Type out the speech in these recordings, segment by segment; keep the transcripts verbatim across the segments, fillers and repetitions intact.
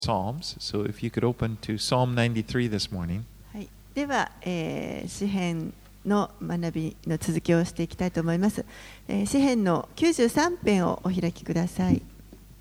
Psalms. So if you could open to Psalm ninety-three this morning. はい、では、えー、詩編の学びの続きをしていきたいと思います。えー、詩編のきゅうじゅうさん編をお開きください。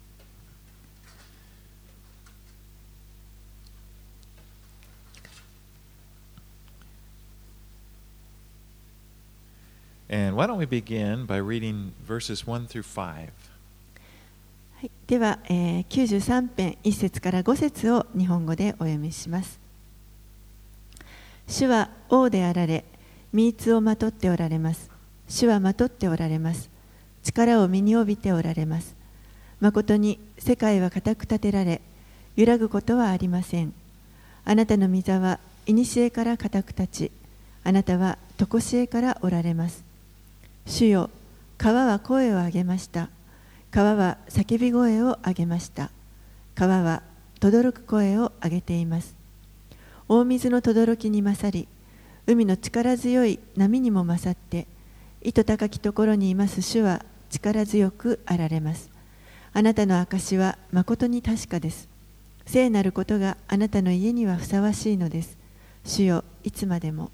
And why don't we begin by reading verses one through five. はい、では、えー、きゅうじゅうさん編いち節からご節を日本語でお読みします。主は王であられ、御杖をまとっておられます。主はまとっておられます。力を身に帯びておられます。まことに世界は固く立てられ、揺らぐことはありません。あなたの御座は古から固く立ち、あなたは常しえからおられます。主よ、川は声を上げました。川は叫び声を上げました。川は轟く声を上げています。大水の轟に勝り、海の力強い波にも勝って、糸高きところにいます主は力強くあられます。あなたの証はまことに確かです。聖なることがあなたの家にはふさわしいのです。主よ、いつまでも。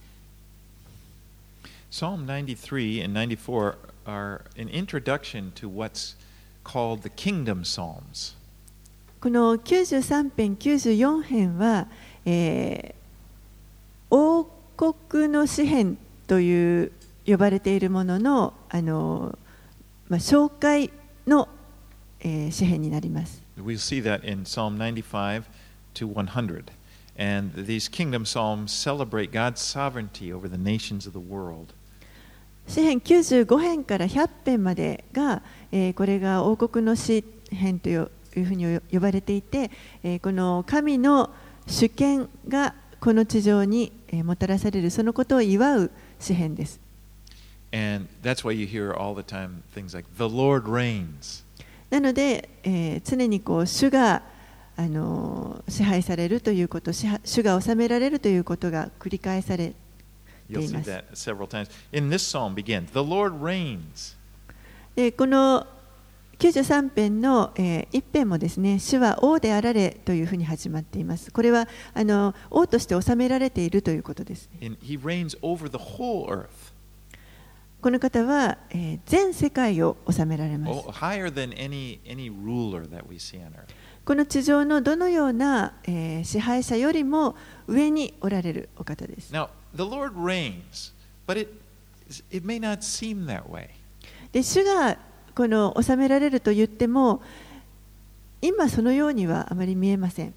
Psalm ninety-three and ninety-four are an introduction to what's called the Kingdom Psalms. このきゅうじゅうさん編、きゅうじゅうよん編は、えー、王国の詩編という呼ばれているものの、あの、まあ、紹介の、えー、詩編になります。 We'll see that in Psalm ninety-five to one hundred. And these Kingdom Psalms celebrate God's sovereignty over the nations of the world. 詩編きゅうじゅうご編からひゃく編までが、えー、これが王国の詩編といういうふうに呼ばれていて、えー、この神の主権がこの地上に、えー、もたらされるそのことを祝う詩編です。 And that's why you hear all the time things like the Lord reigns. なので、えー、常にこう主があの支配されるということ、主が治められるということが繰り返されています。 You'll see that several times. In this psalm begins, the Lord reigns. でこのきゅうじゅうさん編の、えー、いち編もですね、主は王であられというふうに始まっています。これはあの王として治められているということです、ね。 He reigns over the whole earth. この方は、えー、全世界を治められます。 Oh, higher than any, any ruler that we see on earth. この地上のどのような、えー、支配者よりも上におられるお方です。 Now, the Lord reigns, but it, it may not seem that way. で、主がこの治められると言っても、今そのようにはあまり見えません。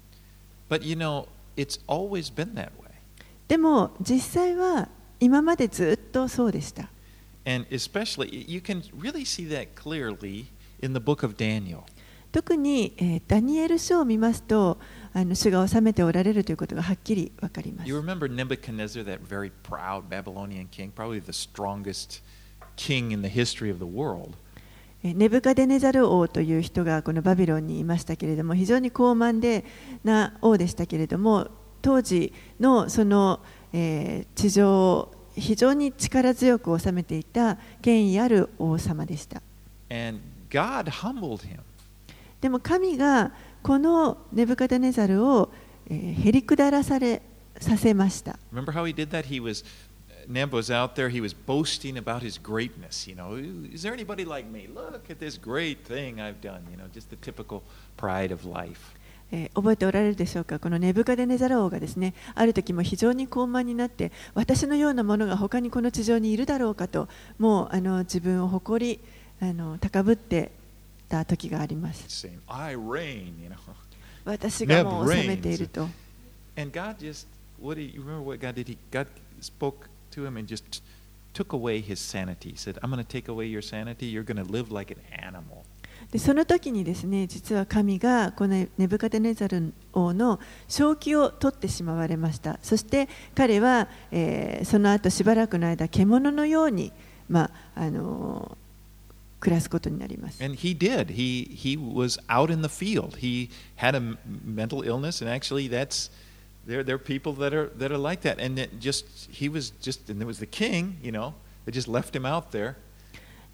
But you know, it's always been that way. でも実際は今までずっとそうでした。 And especially, you can really see that clearly in the book of Daniel. 特に、えー、ダニエル書を見ますと、あの主が治めておられるということがはっきりわかります。 You remember Nebuchadnezzar, that very proud Babylonian king, probably the strongest king in the history of the world. ネブカデネザル王という人がこのバビロンにいましたけれども、非常に高慢でな王でしたけれども、当時のその、えー、地上を非常に力強く治めていた権威ある王様でした。 And God humbled him. でも神がこのネブカデネザルを、えー、へりくだらされさせました。 Remember how he did that? He was Nebuchadnezzar was out there, he was boasting about his greatness. You know, is there anybody like me? Look at this great thing I've done. You know, just the typical pride of life. えー、覚えておられるでしょうか。このネブカデネザル王がですね、ある時も非常に高慢になって、私のようなものが他にこの地上にいるだろうかと、もうあの自分を誇りあの高ぶってた時があります。 Saying, I reign, you know. 私がもう治めていると。 And God just, what did you remember what God did? He, God spoke to him and just took away his sanity. He said, I'm going to take away your sanity. You're going to live like an animal. でその時にですね、実は神がこのネブカデネザル王の正気を取ってしまわれました。そして彼は、えー、その後しばらくの間獣のように、まああのー、暮らすことになります。 And he did. He, he was out in the field. He had a mental illness, and actually that's There, there are people that are that are like that, and it just he was just, and there was the king, you know, they just left him out there.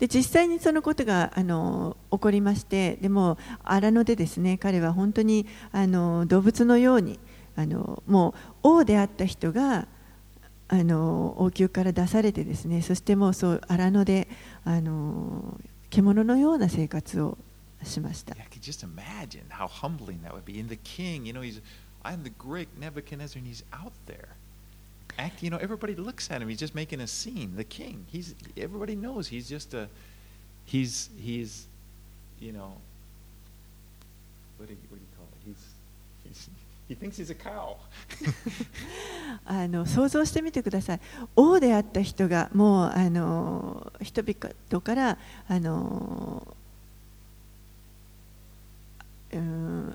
で実際にそのことがあの起こりまして、でも荒野でですね、彼は本当にあの動物のようにあのもう王であった人があの王宮から出されてですね、そしてもうそう荒野であの獣のような生活をしました。 Yeah, I could just imagine how humbling that would be. And the king, you know, he's, I'm the great Nebuchadnezzar, and he's out there. Act, you know, everybody looks at him. He's just making a scene. The king, he's everybody knows he's just a, he's he's, you know, what do you, what do you call it? He's he's he thinks he's a cow. あの想像してみてください。王であった人がもうあの人々からあの、うん、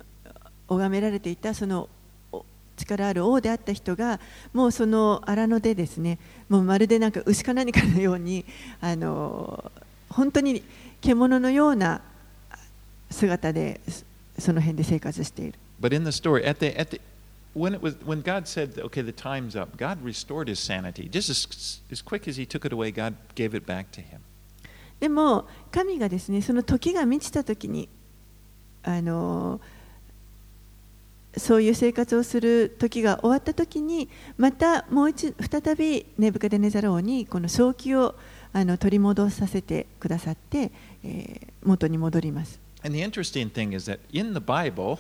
拝められていたその力ある王であった人がもうその荒野でですね、もうまるでなんか牛か何かのようにあの本当に獣のような姿でその辺で生活している。 But in the story, at the at the when it was when God said, "Okay, the time's up," God restored his sanity. Just as as quick as He took it away, God gave it back to him. でも神がですね、その時が満ちた時にあのそういう生活をする時が終わった時に、またもう一再びネブカデネザル王にこの正気をあの取り戻させてくださって、えー、元に戻ります。 And the interesting thing is that in the Bible,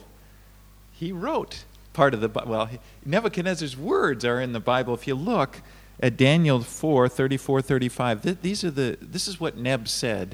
he wrote part of the well, Nebuchadnezzar's words are in the Bible. If you look at Daniel four, thirty-four, thirty-five, th- these are the this is what Neb said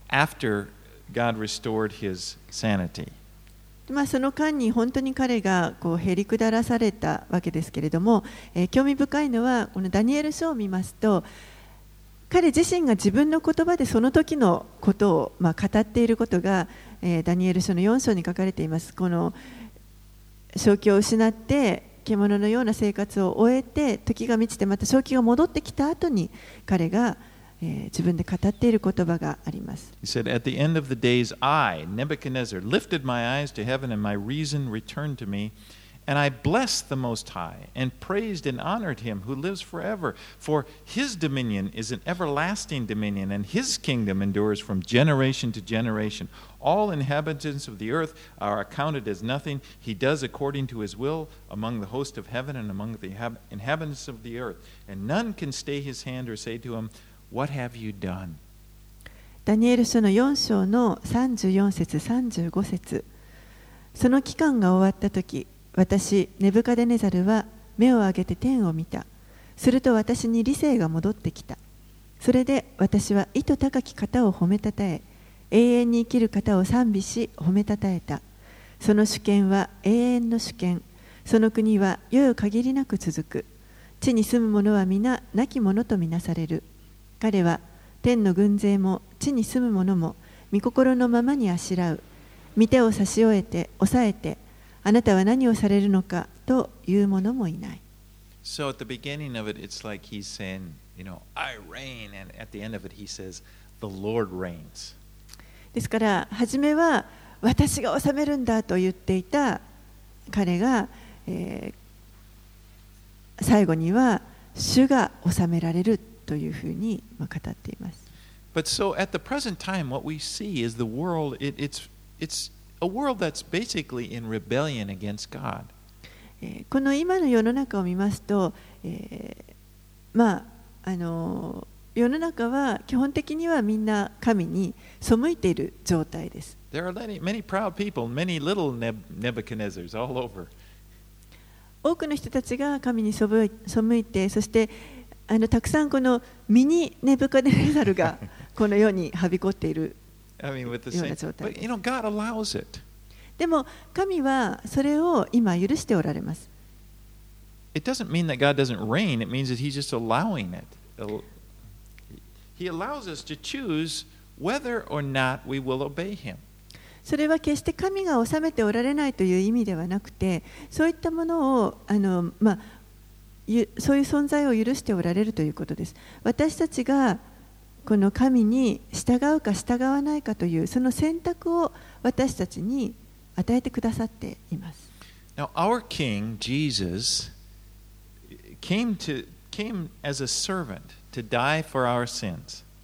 after God restored his sanity. まあその間に本当に彼がこうへり下らされたわけですけれども、えー、興味深いのはこのダニエル書を見ますと、彼自身が自分の言葉でその時のことをまあ語っていることが、えー、ダニエル書のよん章に書かれています。この正気を失って獣のような生活を終えて時が満ちてまた正気が戻ってきた後に彼がえー、自分で語っている言葉があります。 He said, "At the end of the days, I, Nebuchadnezzar, lifted my eyes to heaven, and my reason returned to me, and I blessed the Most High, and praised and honored Him who lives forever. For His dominion is an everlasting dominion, and His kingdom endures from generation to generation. All inhabitants of the earth are accounted as nothing. He does according to His will among the host of heaven and among the inhabitants of the earth. And none can stay His hand or say to Him,What have you done?" ダニエル書のよん章のさんじゅうよん節さんじゅうご節。その期間が終わった時、私ネブカデネザルは目を上げて天を見た。すると私に理性が戻ってきた。それで私は意図高き方を褒めたたえ、永遠に生きる方を賛美し褒めたたえた。その主権は永遠の主権。その国は世々限りなく続く。地に住む者は皆亡き者とみなされる。彼は天の軍勢も地に住む者も御心のままにあしらう。御手を差し終えて抑えて、あなたは何をされるのかという者もいない。 So at the beginning of it, it's like he's saying, you know, I reign, and at the end of it, he says, the Lord reigns. ですから初めは私が治めるんだと言っていた彼が、えー、最後には主が治められるというふうに語っています。 But so at the present time, what we see is the world, it, it's, it's a world that's basically in rebellion against God. この今の世の中を見ますと、えー、まあ、あの世の中は基本的にはみんな神に背いている状態です。 There are many, many proud people, many little Nebuchadnezzars all over. 多くの人たちが神に背いて、そしてあのたくさんこのミニネブカデネザルがこの世にはびこっているような状態です。でも神はそれを今許しておられます。 It doesn't mean that God doesn't reign, it means that He's just allowing it. He allows us to choose whether or not we will obey Him. それは決して神が治めておられないという意味ではなくて、そういったものをあの、まあ、そういう存在を許しておられるということです。私たちがこの神に従うか従わないかというその選択を私たちに与えてくださっています。 Now, our King, Jesus, came to, came as a servant to die for our sins.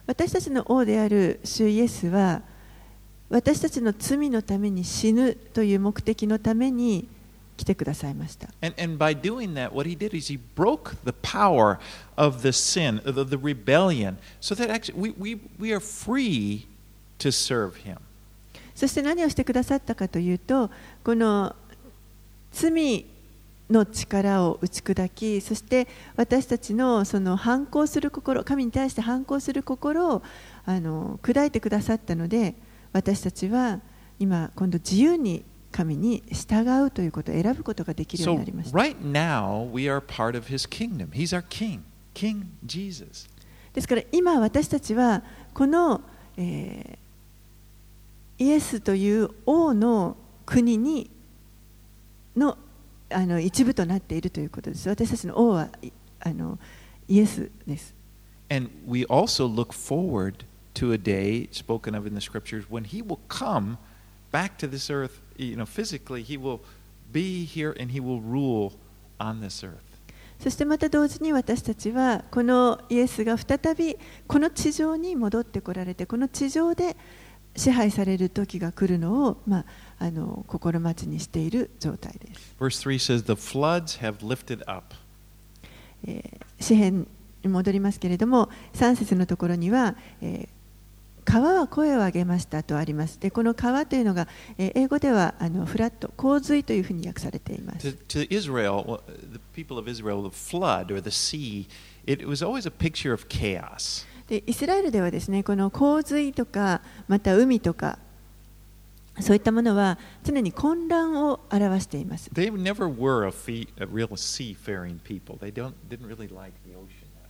私たちの王である主イエスは私たちの罪のために死ぬという目的のために来てくださいました。 And, and by doing that, what he did is he broke the power of the sin, the, the rebellion, so that actually we, we, we are free to serve him. そして何をしてくださったかというと、この罪の力を打ち砕き、そして私たちのその反抗する心、神に対して反抗する心をあの砕いてくださったので、私たちは今今度自由に神に従うということを選ぶことができるようになりました。 So right now we are part of his kingdom. He's our king, King Jesus. ですから今私たちはこの、えー、イエスという王の国にのあの一部となっているということです。私たちの王はあのイエスです。 And we also look forward to a day spoken of in the scriptures when he will come back to this earth, you know, physically, he will be here and he will rule on this earth. そしてまた同時に私たちはこのイエスが再びこの地上に戻ってこられて、この地上で支配される時が来るのを、まあ、あの心待ちにしている状態です。 Verse three says, The floods have lifted up. えー、詩編に戻りますけれども、さん節のところには、えー川は声を上げましたとあります。で、この川というのが、えー、英語ではあのフラット、洪水というふうに訳されています。 To, to Israel, the people of Israel, the flood or the sea, it was always a picture of chaos. で、イスラエルではですね、この洪水とか、また海とか、そういったものは常に混乱を表しています。 They never were a, fee, a real seafaring people. They don't, didn't really like the ocean that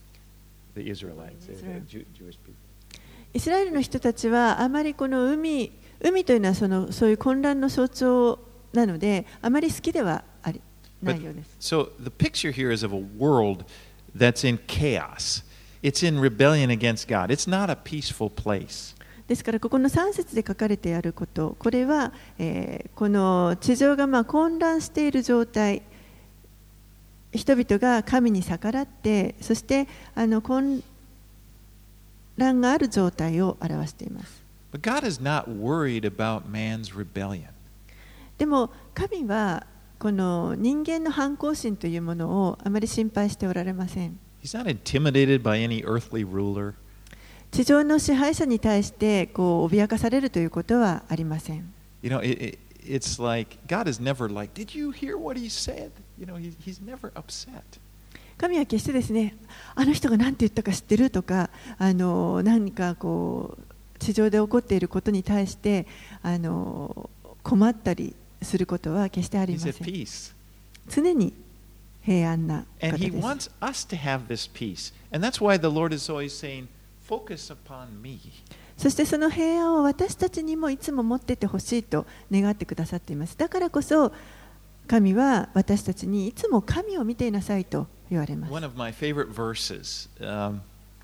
much. The Israelites, the Jew, Jewish people. イスラエルの人たちはあまりこの海、海というのはそのそういう混乱の象徴なので、あまり好きではありないようです。 So the picture here is of a world that's in chaos. It's in rebellion against God. It's not a peaceful place. ですからここのさん節で書かれてあること、これは、えー、この地上がまあ混乱している状態、人々が神に逆らって、そしてあの混乱がある状態を表しています。 But God is not worried about man's rebellion. でも神はこの人間の反抗心というものをあまり心配しておられません。 He's not intimidated by any earthly ruler. 地上の支配者に対してこう脅かされるということはありません。 You know, it, it, it's like God is never like, did you hear what he said? You know, he, he's never upset. 神は決してですね、あの人が何て言ったか知ってるとか、あの何かこう地上で起こっていることに対してあの困ったりすることは決してありません。常に平安な方です。 And he wants us to have this peace. And that's why the Lord is always saying, focus upon me. そしてその平安を私たちにもいつも持っていてほしいと願ってくださっています。だからこそ神は私たちにいつも神を見ていなさいと言われます。 One of my favorite verses um,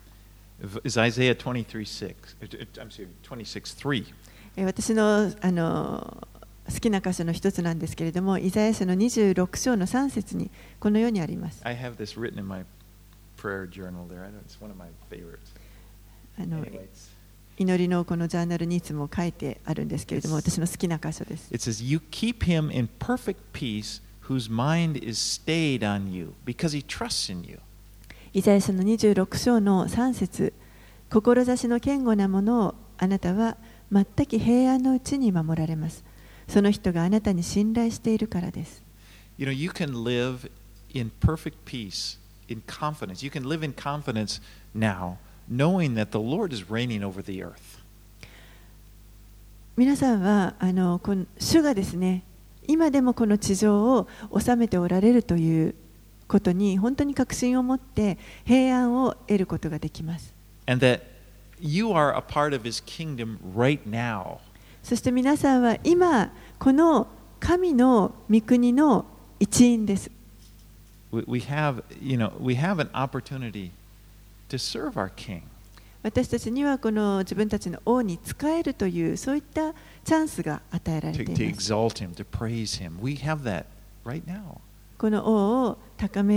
is Isaiah twenty-three six. I'm sorry, twenty-six three. 私のあの好きな箇所の一つなんですけれども、イザヤ書のにじゅうろく章のさん節にこのようにあります。 I have this written in my prayer journal there. I know it's one of my favorites. あの祈りのこのジャーナルにいつも書いてあるんですけれども、私の好きな箇所です。 It says, You keep him in perfect peace whose mind is stayed on you because he trusts in you. イザヤ書のにじゅうろく章のさん節、志の堅固なものをあなたは全く平安のうちに守られます。その人があなたに信頼しているからです。 You know, you can live in perfect peace, in confidence. You can live in confidence now, knowing that the Lord is reigning over the earth. 皆さんはあのこの主がですね、今でもこの地上を治めておられるということに本当に確信を持って平安を得ることができます。 And that you are a part of his kingdom right now. そして皆さんは今この神の御国の一員です。 We, we have, you know, we have an opportunity to serve our king. 私たちにはこの自分たちの王に仕えるというそういったチャンスが与えられています。 To, to exalt him, to praise him. We have that right now. この王を高める、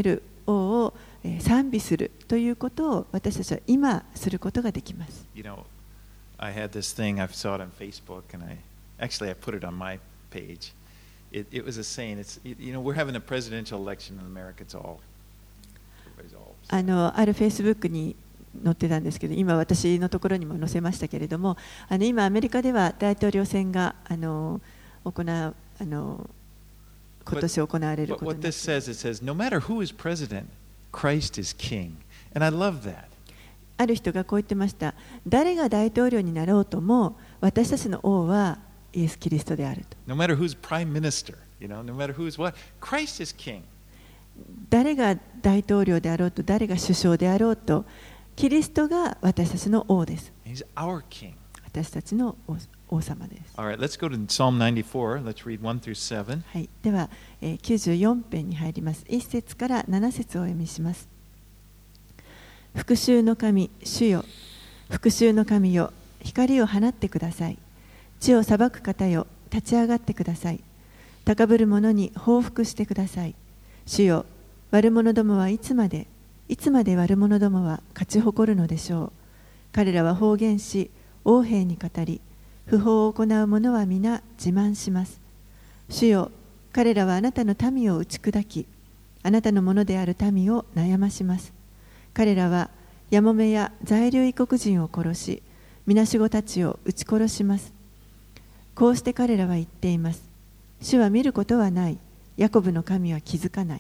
王を賛美するということを私たちは今することができます。 You know, I had this thing, I saw it on Facebook, and I actually I put it on my page. It, it was a saying, it's, you know, we're having a presidential election in America, it's all, everybody's all. あの、あるフェイスブックに載ってたんですけど、今私のところにも載せましたけれども、あの今アメリカでは大統領選があの行うあの今年行われる But ことに what な this っています。 says, it says, no matter who is president, Christ is king. And I love that. ある人がこう言ってました。誰が大統領になろうとも、私たちの王はイエス・キリストであると。 No matter who's prime minister, you know, no matter who's what, Christ is king. 誰が大統領であろうと、誰が首相であろうと、キリストが私たちの王です。 He's our king. 私たちの王、王様です。 All right, let's go to Psalm ninety-four. Let's read one through seven. はい、では、えー、きゅうじゅうよん編に入ります。いっ節からなな節をお読みします。復讐の神、主よ、復讐の神よ、光を放ってください。地を裁く方よ、立ち上がってください。高ぶる者に報復してください。主よ、悪者どもはいつまで、いつまで悪者どもは勝ち誇るのでしょう。彼らは方言し、横柄に語り、不法を行う者は皆自慢します。主よ、彼らはあなたの民を打ち砕き、あなたのものである民を悩まします。彼らはやもめや在留異国人を殺し、みなしごたちを撃ち殺します。こうして彼らは言っています。主は見ることはない。ヤコブの神は気づかない。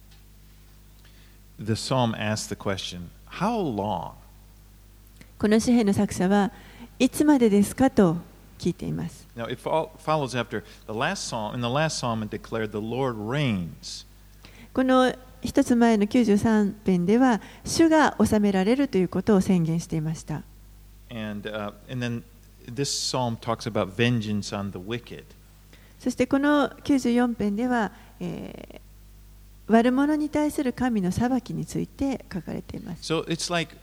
The psalm asks the question, how long? この詩篇の作者はいつまでですかと聞いています。 Now, it fol- follows after the last psalm. In the last psalm, it declared, the Lord reigns. この一つ前のきゅうじゅうさん編では、主が治められるということを宣言していました。 And, uh, and then this psalm talks about vengeance on the wicked. そしてこのきゅうじゅうよん編では、えー、悪者に対する神の裁きについて書かれています。 So it's like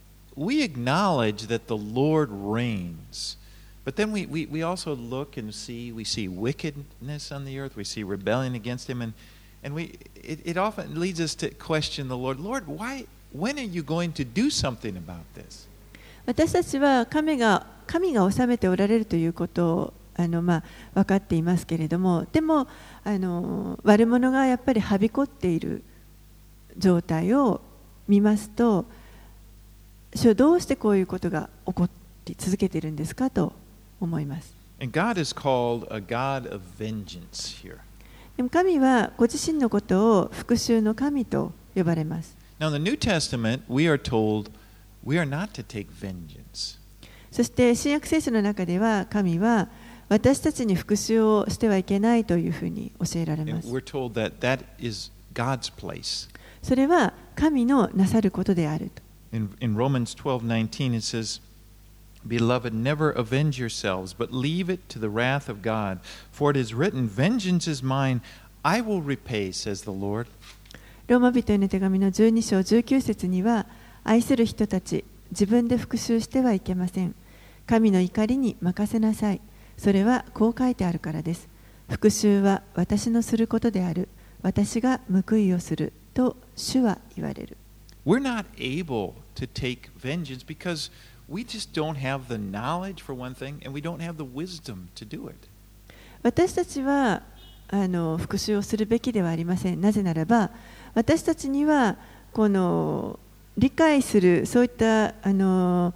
we acknowledge that the Lord reigns, but then we, we, we also look and see, we see wickedness on the earth, we see rebellion against Him, and, and we, it, it often leads us to question the Lord. Lord, why, when are you going to do something about this? 私たちは神が、神が治めておられるということをあの、まあ、分かっていますけれども、でもあの悪者がやっぱりはびこっている状態を見ますと、主はどうしてこういうことが起こり続けているんですかと思います。 And God is called a God of vengeance here. でも神はご自身のことを復讐の神と呼ばれます。 Now in the New Testament, we are told we are not to take vengeance. そして新約聖書の中では神は私たちに復讐をしてはいけないというふうに教えられま And す。 we're told that that is God's place. それは神のなさることであると。 In, in Romans twelve nineteen, it says, Beloved, never avenge yourselves, but leave it to the wrath of God. For it is written, Vengeance is mine, I will repay, says the Lord. ローマ人への手紙のじゅうに章じゅうきゅう節には、愛する人たち、自分で復讐してはいけません。神の怒りに任せなさい。それはこう書いてあるからです。復讐は私のすることである。私が報いをする。と主は言われる。 We're not able to take vengeance because we just don't have the knowledge for one thing, and we don't have the wisdom to do it. 私たちはあの復讐をするべきではありません。なぜならば、私たちにはこの理解するそういったあの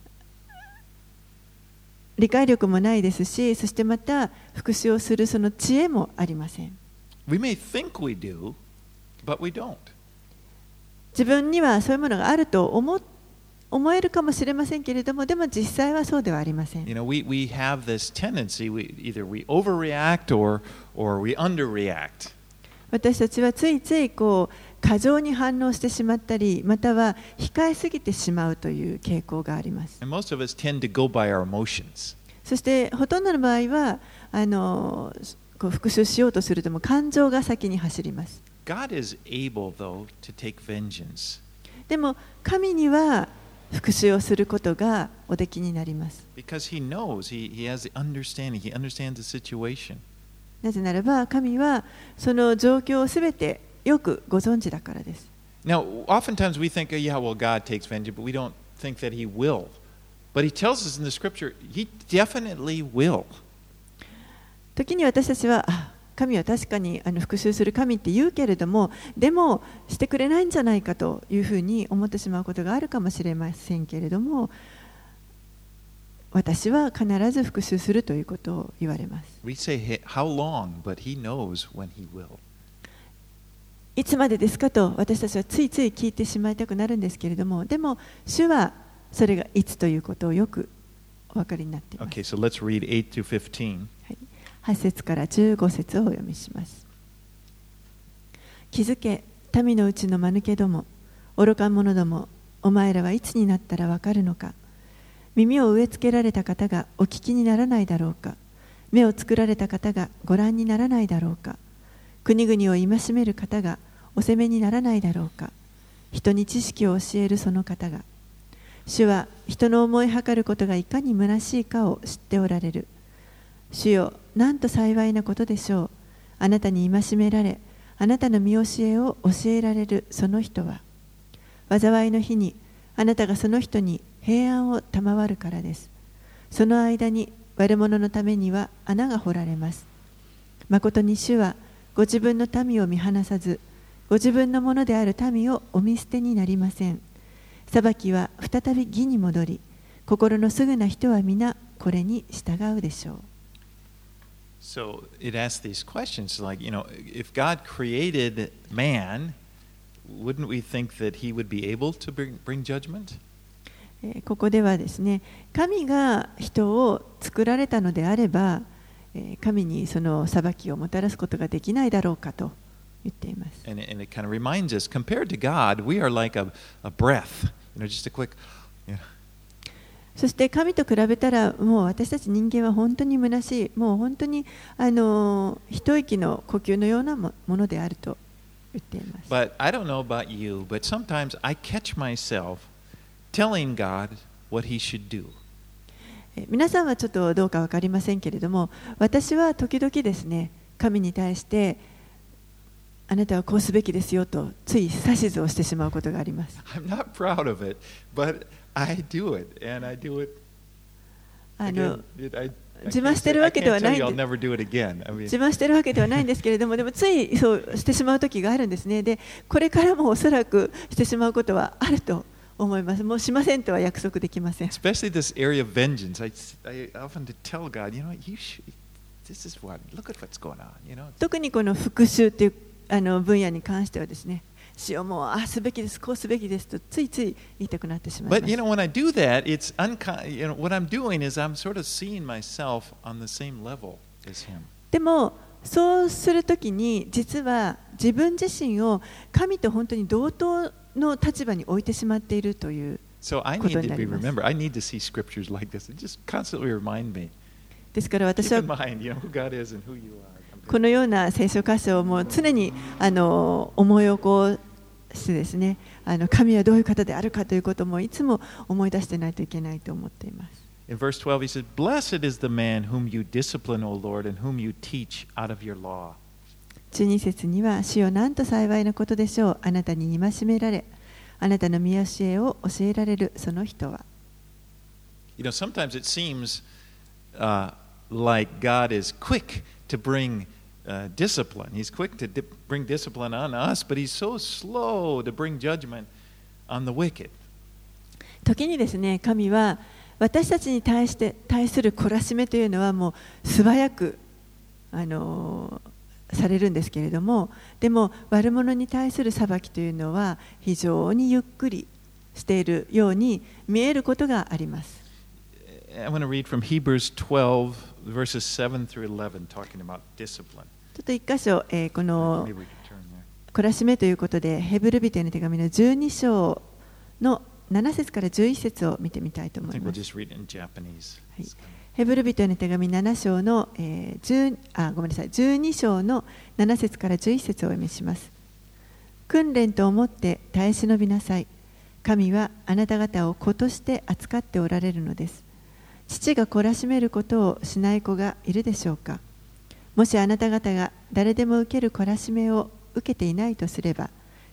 理解力もないですし、そしてまた復讐をするその知恵もありません。 We may think we do, but we don't. 自分にはそういうものがあると思思えるかもしれませんけれども、でも実際はそうではありません。 You know, we, we have this tendency, we, either we overreact or, or we underreact. 私たちはついついこう過剰に反応してしまったり、または控えすぎてしまうという傾向があります。 And most of us tend to go by our emotions. そしてほとんどの場合はあのこう復讐しようとするとも感情が先に走ります。 God is able, though, to take vengeance. でも神には復讐をすることがおできになります。 Because He knows, He, he has the understanding, He understands the situation. なぜならば神はその状況をすべてよくご存知だからです。 Now, oftentimes we think, oh, yeah, well, God takes vengeance, but we don't think that He will. But He tells us in the Scripture, He definitely will. 時に私たちは、あ、神は確かにあの復讐する神って言うけれども、でもしてくれないんじゃないかというふうに思ってしまうことがあるかもしれませんけれども、私は必ず復讐するということを言われます。 We say, how long, but He knows when He will. いつまでですかと私たちはついつい聞いてしまいたくなるんですけれども、でも主はそれがいつということをよくお分かりになっています。 Okay, so let's read eight to fifteen. はい、はち節からじゅうご節をお読みします。気づけ、民のうちの間抜けども、愚か者ども、お前らはいつになったらわかるのか。耳を植え付けられた方がお聞きにならないだろうか。目を作られた方がご覧にならないだろうか。国々を戒める方がお責めにならないだろうか。人に知識を教えるその方が。主は人の思いはかることがいかに虚しいかを知っておられる。主よ、なんと幸いなことでしょう。あなたに戒められ、あなたの見教えを教えられるその人は。災いの日にあなたがその人に平安を賜るからです。その間に悪者のためには穴が掘られます。まことに主はご自分の民を見放さず、ご自分のものである民をお見捨てになりません。裁きは再び義に戻り、心のすぐな人は皆これに従うでしょう。 So it asks these questions like, you know, if God created man, wouldn't we think that He would be able to bring, bring judgment? ここではですね、神が人を作られたのであれば、神にその裁きをもたらすことができないだろうかと言っています。 And it, and it kind of reminds us, compared to God, we are like a, a breath, you know, just a quick, you know. そして神と比べたらもう私たち人間は本当に虚しい、もう本当にあの一息の呼吸のようなものであると言っています。 But I don't know about you, but sometimes I catch myself telling God what He should do. 皆さんはちょっとどうか分かりませんけれども、私は時々ですね、神に対してあなたはこうすべきですよとつい指図をしてしまうことがあります。 I'm not proud of it, but I do it, and I do it. あの Again, I, I 自慢してるわけではないん I'll で never do it again. I mean, 自慢してるわけではないんですけれども、でもついそうしてしまう時があるんですね。で、これからもおそらくしてしまうことはあると思います。もうしませんとは約束できません。 especially this area of vengeance, I, I often tell God, you know, you should, this is what, look at what's going on, you know. 特にこの復讐というあの分野に関してはですね、主よもうあすべきです、こうすべきですとついつい言いたくなってしまいま But す。 you know, when I do that, it's uncon- you know, what I'm doing is I'm sort of seeing myself on the same level as Him. でもそうするときに実は自分自身を神と本当に同等の立場に置いてしまっているという So I こ need とに to な be ります。 remember. I need to see scriptures like this and just constantly remind me. ですから私 Keep は in mind, you know, who God is and who you are. このような聖書箇所をもう常にあの思い起こしてですね、あの神はどういう方であるかということもいつも思い出してないといけないと思っています。 In verse twelve, he says, Blessed is the man whom you discipline, O Lord, and whom you teach out of your law. じゅうに節には、主よなんと幸いなことでしょう。あなたに戒められ、あなたの見教えを教えられるその人は。 You know, sometimes it seems uh, like God is quick to bring uh, discipline. He's quick to di- bring discipline on us, but he's so slow to bring judgment on the wicked. 時にですね、神は私たちに対して対する懲らしめというのはもう素早くあのされるんですけれども、でも悪者に対する裁きというのは非常にゆっくりしているように見えることがあります。 I want to read from Hebrews twelve, verses seven through eleven, talking about discipline. ちょっと一箇所、えー、この Maybe we could turn there. 懲らしめということでヘブル人への手紙のじゅうに章のなな節からじゅういち節を見てみたいと I 思い think ま we'll す。 just read it in Japanese. はい、ヘブル人への手紙なな章の、えー、10あごめんなさいじゅうに章のなな節からじゅういち節をお読みします。訓練と思って耐え忍びなさい。神はあなた方を子として扱っておられるのです。父が懲らしめることをしない子がいるでしょうか。もしあなた方が誰でも受ける懲らしめを受けていないとすれば、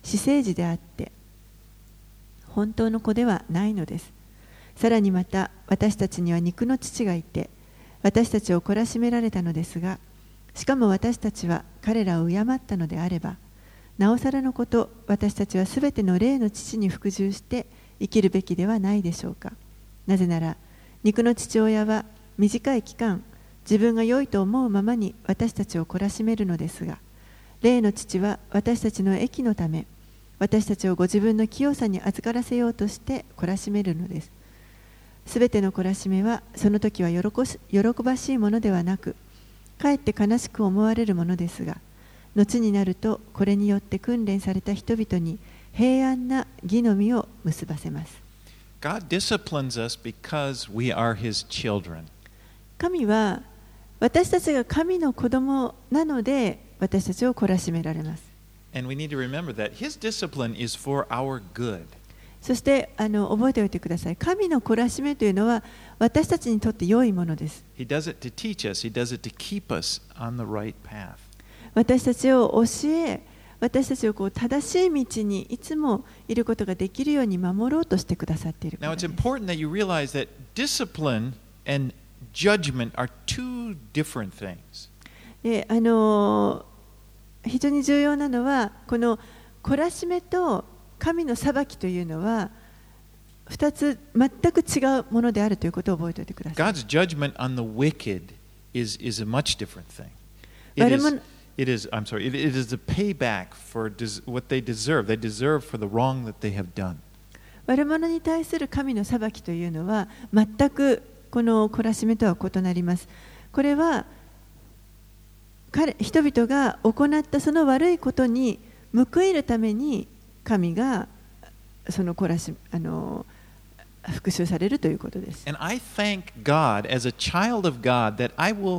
私生児であって本当の子ではないのです。さらにまた私たちには肉の父がいて私たちを懲らしめられたのですが、しかも私たちは彼らを敬ったのであれば、なおさらのこと私たちはすべての霊の父に服従して生きるべきではないでしょうか。なぜなら肉の父親は短い期間自分が良いと思うままに私たちを懲らしめるのですが、霊の父は私たちの益のため私たちをご自分の清さに預からせようとして懲らしめるのです。すべての懲らしめはその時は喜し喜ばしいものではなく、かえって悲しく思われるものですが、後になるとこれによって訓練された人々に平安な義の実を結ばせます。 God disciplines us because we are His children. 神は私たちが神の子供なので私たちを懲らしめられます。 And we need to remember that His discipline is for our good. そしてあの覚えておいてください。神の懲らしめというのは私たちにとって良いものです。 He does it to teach us. He does it to keep us on the right path. 私たちを教え、私たちをこう正しい道にいつもいることができるように守ろうとしてくださっているから Now です。 it's important that you realize that discipline and judgment are two different things. であの非常に重要なのはこの懲らしめと神の裁きというのはふたつ全く違うものであるということを覚えておいてください。 God's judgment on the wicked is, is a much different thing. It is, it is, I'm sorry, it, it is a payback for des, what they deserve. They deserve for the wrong that they have done. 悪者に対する神の裁きというのは全くこの懲らしめとは異なります。これは彼人々が行ったその悪いことに報いるために神がその懲らしあの復讐されるということです。 And I thank God as a child of God that I will,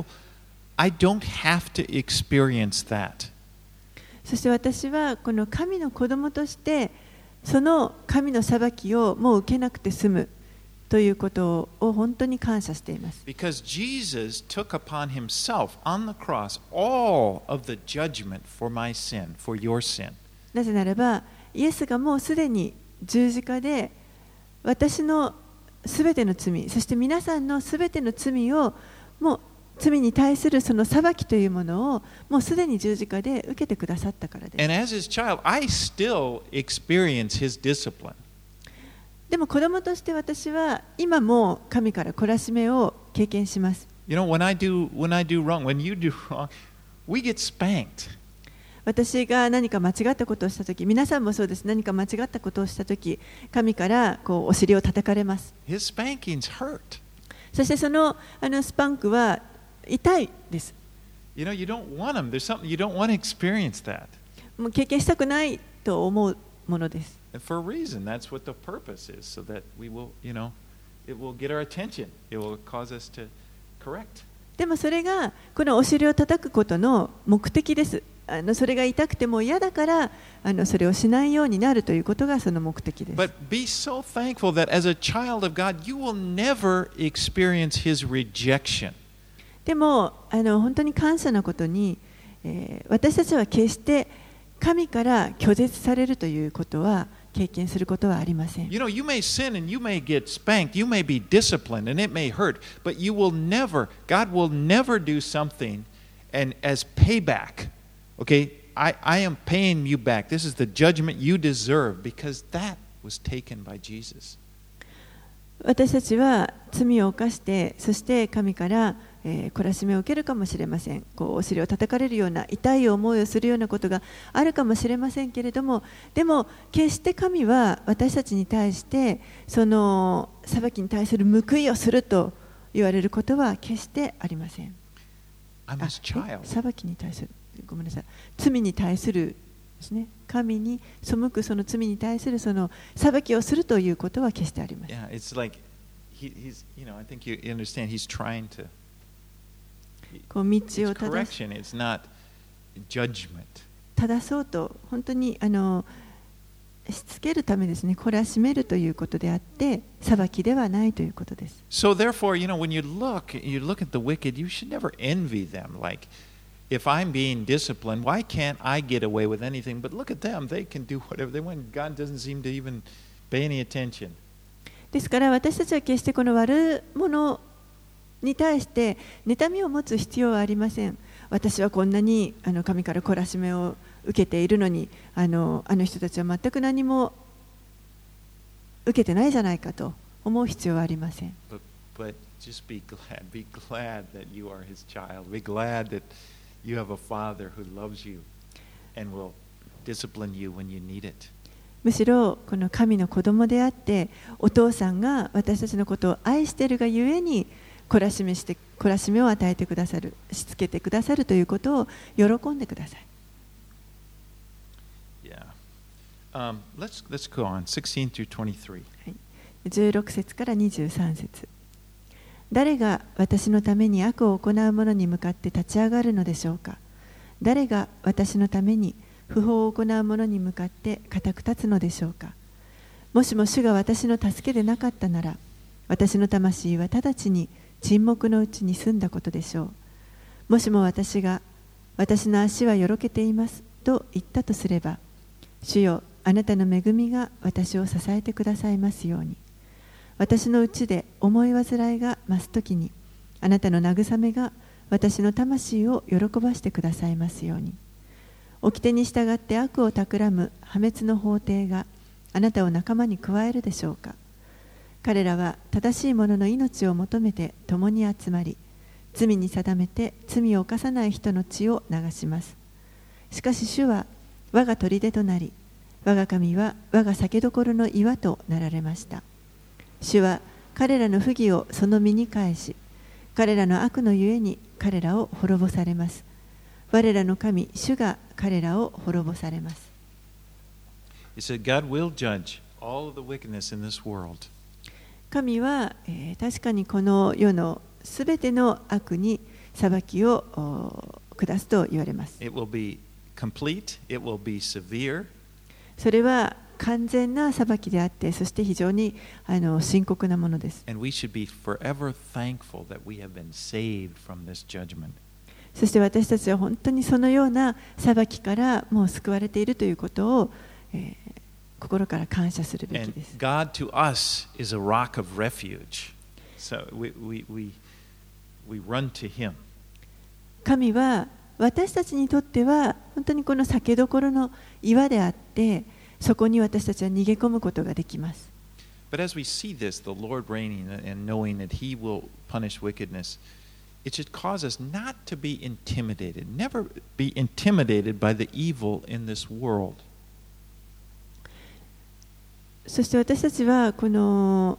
I don't have to experience that. そして私はこの神の子供としてその神の裁きをもう受けなくて済むということを本当に感謝しています。 Because Jesus took upon himself on the cross all of the judgment for my sin, for your sin. なぜならば、イエスがもうすでに十字架で私のすべての罪、そして皆さんのすべての罪をもう罪に対するその裁きというものをもうすでに十字架で受けてくださったからです。 And as his child, I still experience his discipline. でも子供として私は今も神から懲らしめを経験します。 You know, when I do, when I do wrong, when you do wrong, we get spanked. 私が何か間違ったことをしたとき、皆さんもそうです。何か間違ったことをしたとき、神からこうお尻を叩かれます。 His spankings hurt. そしてそのあのスパンクは痛いです。 You know, you don't want them. There's something you don't want to experience that. もう経験したくないと思うものです。 And for a reason, that's what the purpose is, so that we will, you know, it will get our attention. It will cause us to correct. でもそれがこのお尻を叩くことの目的です。あのそれが痛くても嫌だからあのそれをしないようになるということがその目的です。 But be so thankful that as a child of God, you will never experience His rejection. でもあの本当に感謝なことに、えー、私たちは決して神から拒絶されるということは経験することはありません。 You know, you may sin and you may get spanked, you may be disciplined and it may hurt, but you will never, God will never do something and as payback. Okay, I, I am paying you back. This is the judgment you deserve because that was taken by Jesus. 私たちは罪を犯して、そして神から、えー、懲らしめを受けるかもしれません。こうお尻を叩かれるような痛い思いをするようなことがあるかもしれませんけれども、でも決して神は私たちに対してその裁きに対する報いをすると言われることは決してありません。 I'm his child. 裁きに対する、ごめんなさい、罪に対するですね、神に背くその罪に対するその裁きをするということは決してありません。 Yeah, it's like he, he's, you know, I think you understand. He's trying to. こう道 It's を正し correction. It's not judgment. 正そうと本当にあのしつけるためですね、懲らしめるということであって裁きではないということです。 So therefore, you know, when you look, you look at the wicked, you should never envy them. Like, if I'm being disciplined, why can't I get away with anything? But look at them, they can do whatever they want. God doesn't seem to even pay any attention. ですから私たちは決してこの悪者に対して妬みを持つ必要はありません。私はこんなにあの神から懲らしめを受けているのに、あの、あの人たちは全く何も受けてないじゃないかと思う必要はありません。 But, but just be glad, be glad that you are His child. Be glad that you have a Father who loves you and will discipline you when you need it. むしろこの神の子供であってお父さんが私たちのことを愛しているがゆえに懲らしめして懲らしめを与えてくださる、しつけてくださるということを喜んでください。 Yeah. Um, let's let's go on. sixteen through twenty-three. じゅうろく節からにじゅうさん節。誰が私のために悪を行う者に向かって立ち上がるのでしょうか。誰が私のために不法を行う者に向かって固く立つのでしょうか。もしも主が私の助けでなかったなら、私の魂は直ちに沈黙のうちに済んだことでしょう。もしも私が、私の足はよろけていますと言ったとすれば、主よ、あなたの恵みが私を支えてくださいますように。私のうちで思い煩いが増すときに、あなたの慰めが私の魂を喜ばしてくださいますように。掟に従って悪を企む破滅の法廷があなたを仲間に加えるでしょうか。彼らは正しい者の命を求めて共に集まり、罪に定めて罪を犯さない人の血を流します。しかし主は我が砦となり、我が神は我が酒どころの岩となられました。主は彼らの不義をその身に返し、彼らの悪のゆえに彼らを滅ぼされます。我らの神、主が彼らを滅ぼされます。 He said, God will judge all of the wickedness in this world. 神は、えー、確かにこの世のすべての悪に裁きを下すと言われます。 It will be complete, it will be severe. それは完全な裁きであって、そして非常にあの深刻なものです。 And we should be forever thankful that we have been saved from this judgment. そして私たちは本当にそのような裁きからもう救われているということを、えー、心から感謝するべきです。 And God to us is a rock of refuge. So we, we, we, we run to Him. 神は私たちにとっては本当にこの酒どころの岩であって、そこに私たちは逃げ込むことができます。 But as we see this, the Lord reigning and knowing that He will punish wickedness, it should cause us not to be intimidated, never be intimidated by the evil in this world. そして私たちはこの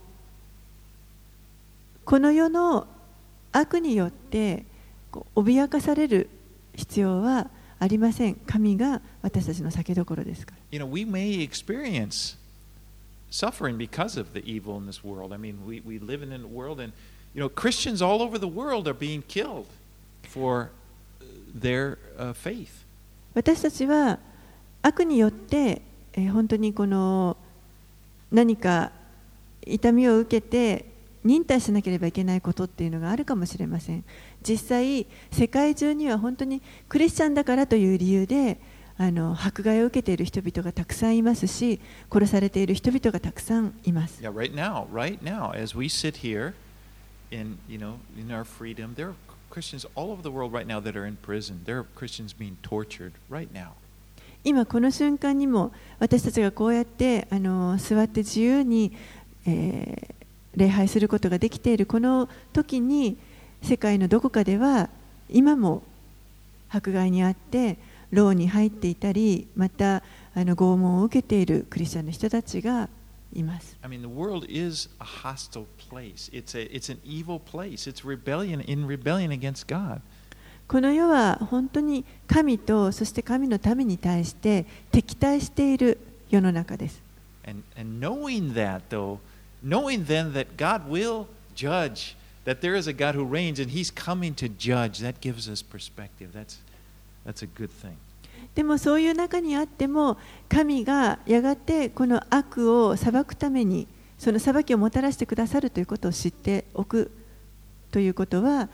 この世の悪によって脅かされる必要はありません。神が私たちの酒どころですから。 You know, we may experience suffering because of the evil in this world. I mean, we, we live in a world and you know, Christians all over the world are being killed for their uh, faith. 私たちは悪によって、えー、本当にこの何か痛みを受けて忍耐しなければいけないことっていうのがあるかもしれません。実際世界中には本当にクリスチャンだからという理由であの迫害を受けている人々がたくさんいますし、殺されている人々がたくさんいます。 Yeah, right now, right now, as we sit here in, you know, in our freedom, there are Christians all over the world right now that are in prison. There are Christians being tortured right now. 今この瞬間にも私たちがこうやってあの座って自由に、えー、礼拝することができているこの時に世界のどこかでは今も迫害にあって牢に入っていたり、またあの拷問を受けているクリスチャンの人たちがいます。 I mean, the world is a hostile place. It's a, it's an evil place. It's rebellion in rebellion against God. この世は本当に神とそして神の民に対して敵対している世の中です。 And, and knowing that, though, knowing then that God will judge, that there is a God who reigns and He's coming to judge, that gives us perspective. That's, that's a good thing. でもそういう中にあっても神がやがてこの悪を裁くためにその裁きをもたらしてくださるということを知っておくということは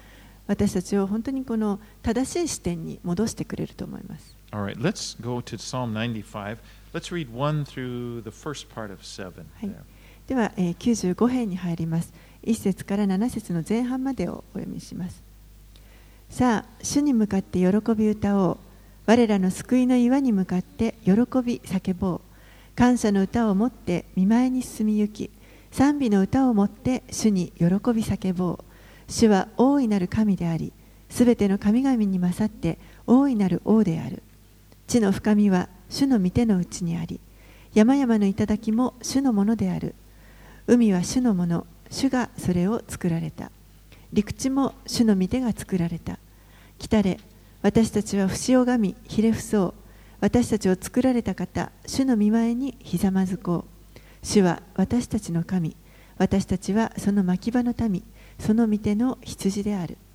私たちを本当にこの正しい視点に戻してくれると思います。 All right, let's go to Psalm ninety-five. Let's read one through the first part of seven. はい、では、えー、きゅうじゅうご編に入ります。いっ節からなな節の前半までをお読みします。さあ、主に向かって喜び歌おう。我らの救いの岩に向かって喜び叫ぼう。感謝の歌をもって御前に進み行き、賛美の歌をもって主に喜び叫ぼう。主は大いなる神であり、すべての神々に勝って大いなる王である。地の深みは主の御手の内にあり、山々の頂も主のものである。海は主のもの、主がそれを作られた。陸地も主の御手が作られた。来たれ、私たちは節をがみ、ひれ伏そう。私たちを作られた方、主の御前にひざまずこう。主は私たちの神、私たちはその牧場の民、その御手の羊である。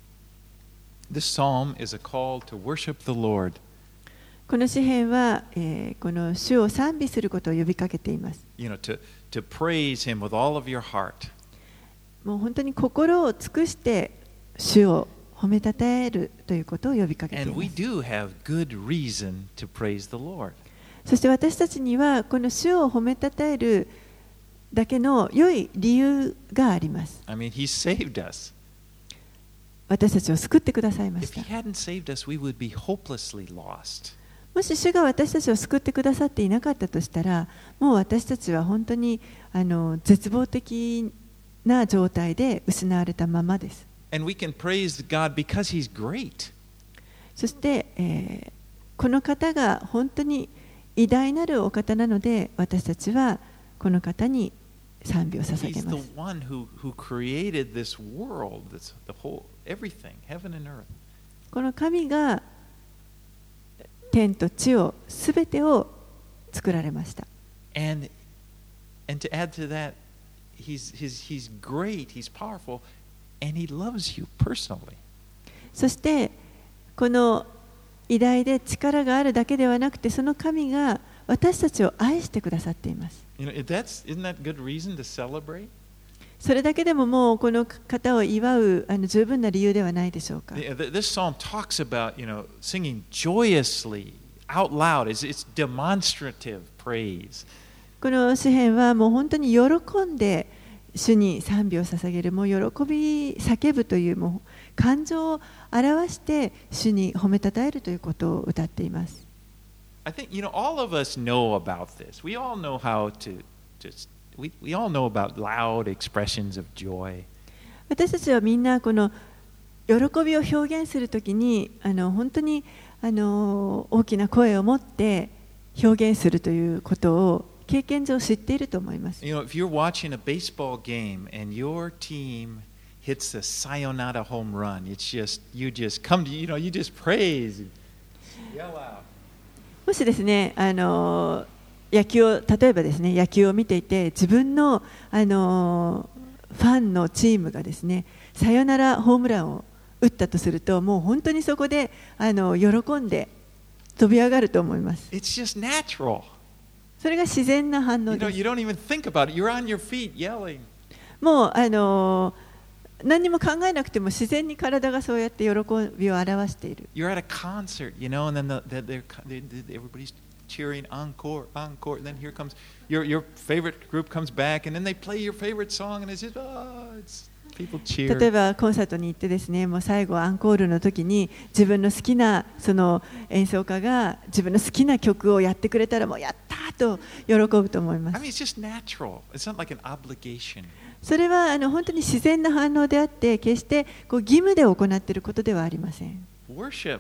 This psalm is a call to worship the Lord. この詩篇は、えー、この主を賛美することを呼びかけています。 You know, to, to praise Him with all of your heart. もう本当に心を尽くして主を褒めたたえるということを呼びかけてい And ま we す。 do have good reason to praise the Lord. そして私たちにはこの主を褒めたたえるだけの良い理由があります。 I mean, He saved us. 私たちを救ってくださいまし If た。 He hadn't saved us, we would be hopelessly lost. もし主が私たちを救ってくださっていなかったとしたら、もう私たちは本当にあの絶望的な状態で失われたままです。 And we can praise God because He's great. そして、えー、この方が本当に偉大なるお方なので、私たちはこの方に賛美を捧げ He's ま the す。 one who, who created this world, this, the whole, everything, heaven and earth. この神が天と地をすべてを作られました。 And, and to add to that, he's, he's, he's great, He's powerful, and He loves you personally. そしてこの偉大で力があるだけではなくて、その神が私たちを愛してくださっています。 You know, if that's, isn't that good reason to celebrate? それだけでももうこの方を祝うあの十分な理由ではないでしょうか。 The- the- This psalm talks about, you know, singing joyously, out loud. It's, it's demonstrative praise. この詩篇はもう本当に喜んで主に賛美を捧げる、もう喜び叫ぶというもう感情を表して主に褒めたたえるということを歌っています。 I think, you know, all of us know about this. We all know how to just, we, we all know about loud expressions of joy. 私たちはみんなこの喜びを表現するときにあの本当にあの大きな声を持って表現するということを経験上知っていると思います。 You know, if you're watching a baseball game and your team hits a sayonara home run, it's just, you just come to, you know, you just praise, yell out. もしですね、あの野球を例えばですね、野球を見ていて自分のあのファンのチームがですね、サヨナラホームランを打ったとすると、もう本当にそこであの喜んで飛び上がると思います。 It's just natural. それが自然な反 You 応 know, です。 you don't even think about it. You're on your feet yelling. もうあの何にも考えなくても自然に体がそうやって喜びを表している。 You're at a concert, you know, and then the, the, they're, they, they, everybody's cheering encore, encore. And then here comes your your favorite group comes back, and then they play your favorite song, and it's just, oh, it's people 例え cheer. ばコンサートに行ってですね、もう最後アンコールの時に自分の好きなその演奏家が自分の好きな曲をやってくれたら、もうやったーと喜ぶと思いま I す。 mean, it's just natural. It's not like an obligation. それはあの本当に自然な反応であって、決してこう義務で行っていることではありません。 Worship,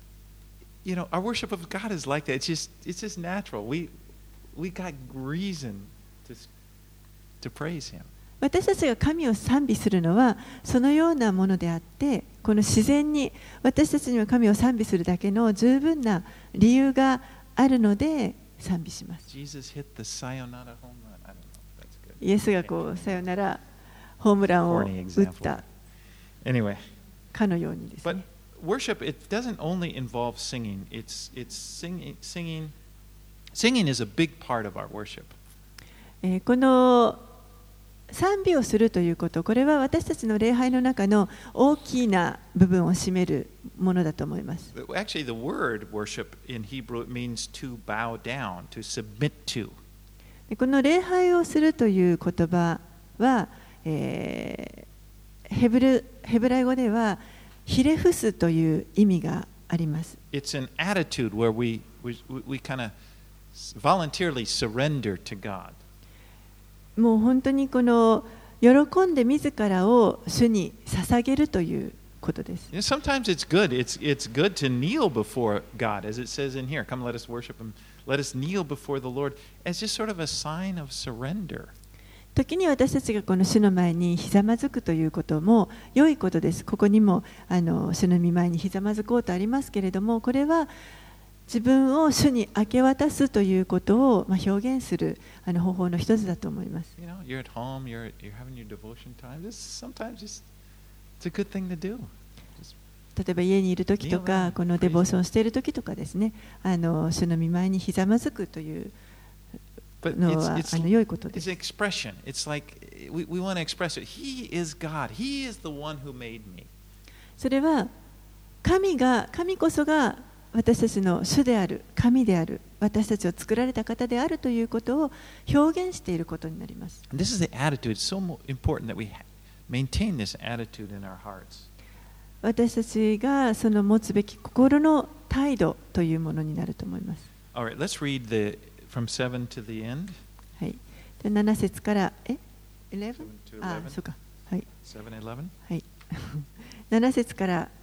you know, our worship of God is like that. It's just, it's just natural. We, we got reason to, to praise Him. 私たちが神を賛美するのはそのようなものであって、この自然に私たちには神を賛美するだけの十分な理由があるので賛美します。 Jesus hit the sayonara home run. I don't know. That's good. イエスがこうさよならホームランを Corny 打っ example. た Anyway, かのようにです but ね。 worship, it doesn't only involve singing. It's, it's singing, singing. Singing is a big part of our worship. えーこの賛美をするということ、これは私たちの礼拝の中の大きな部分を占めるものだと思います。 Actually, the word worship in Hebrew means to bow down, to submit to. この礼拝をするという言葉は、えー、ヘブル、ヘブライ語ではひれ伏すという意味があります。 It's an attitude where we, we, we kind of voluntarily surrender to God. もう本当にこの喜んで自らを主に捧げるということです。 You know, sometimes it's good. It's, it's good to kneel before God, as it says in here. Come, let us worship Him. Let us kneel before the Lord as just sort of a sign of surrender. 時に私たちがこの主の前にひざまずくということも良いことです。ここにもあの主の御前にひざまずこうとありますけれども、これは自分を主に明け渡すということを、まあ、表現するあの方法の一つだと思います。 You know, you're at home, you're, you're having your devotion time. This sometimes just, it's a good thing to do. 例えば家にいる時とか、このデボーションしている時とかですね、あの主の御前にひざまずくというのはあの良いことです。 It's an expression. It's like we, we want to express it. He is God. He is the one who made me. それは神が、神こそが私たちの主である、神である、私たちを作られた方であるということを表現していることになります。 This is the attitude. It's so important that we maintain this attitude in our hearts. 私たちがその持つべき心の態度というものになると思います。 All right, let's read the from seven to the end. はい。でなな節からえ、じゅういち? あ、そうか。はい。 seven, eleven? はい。なな節からん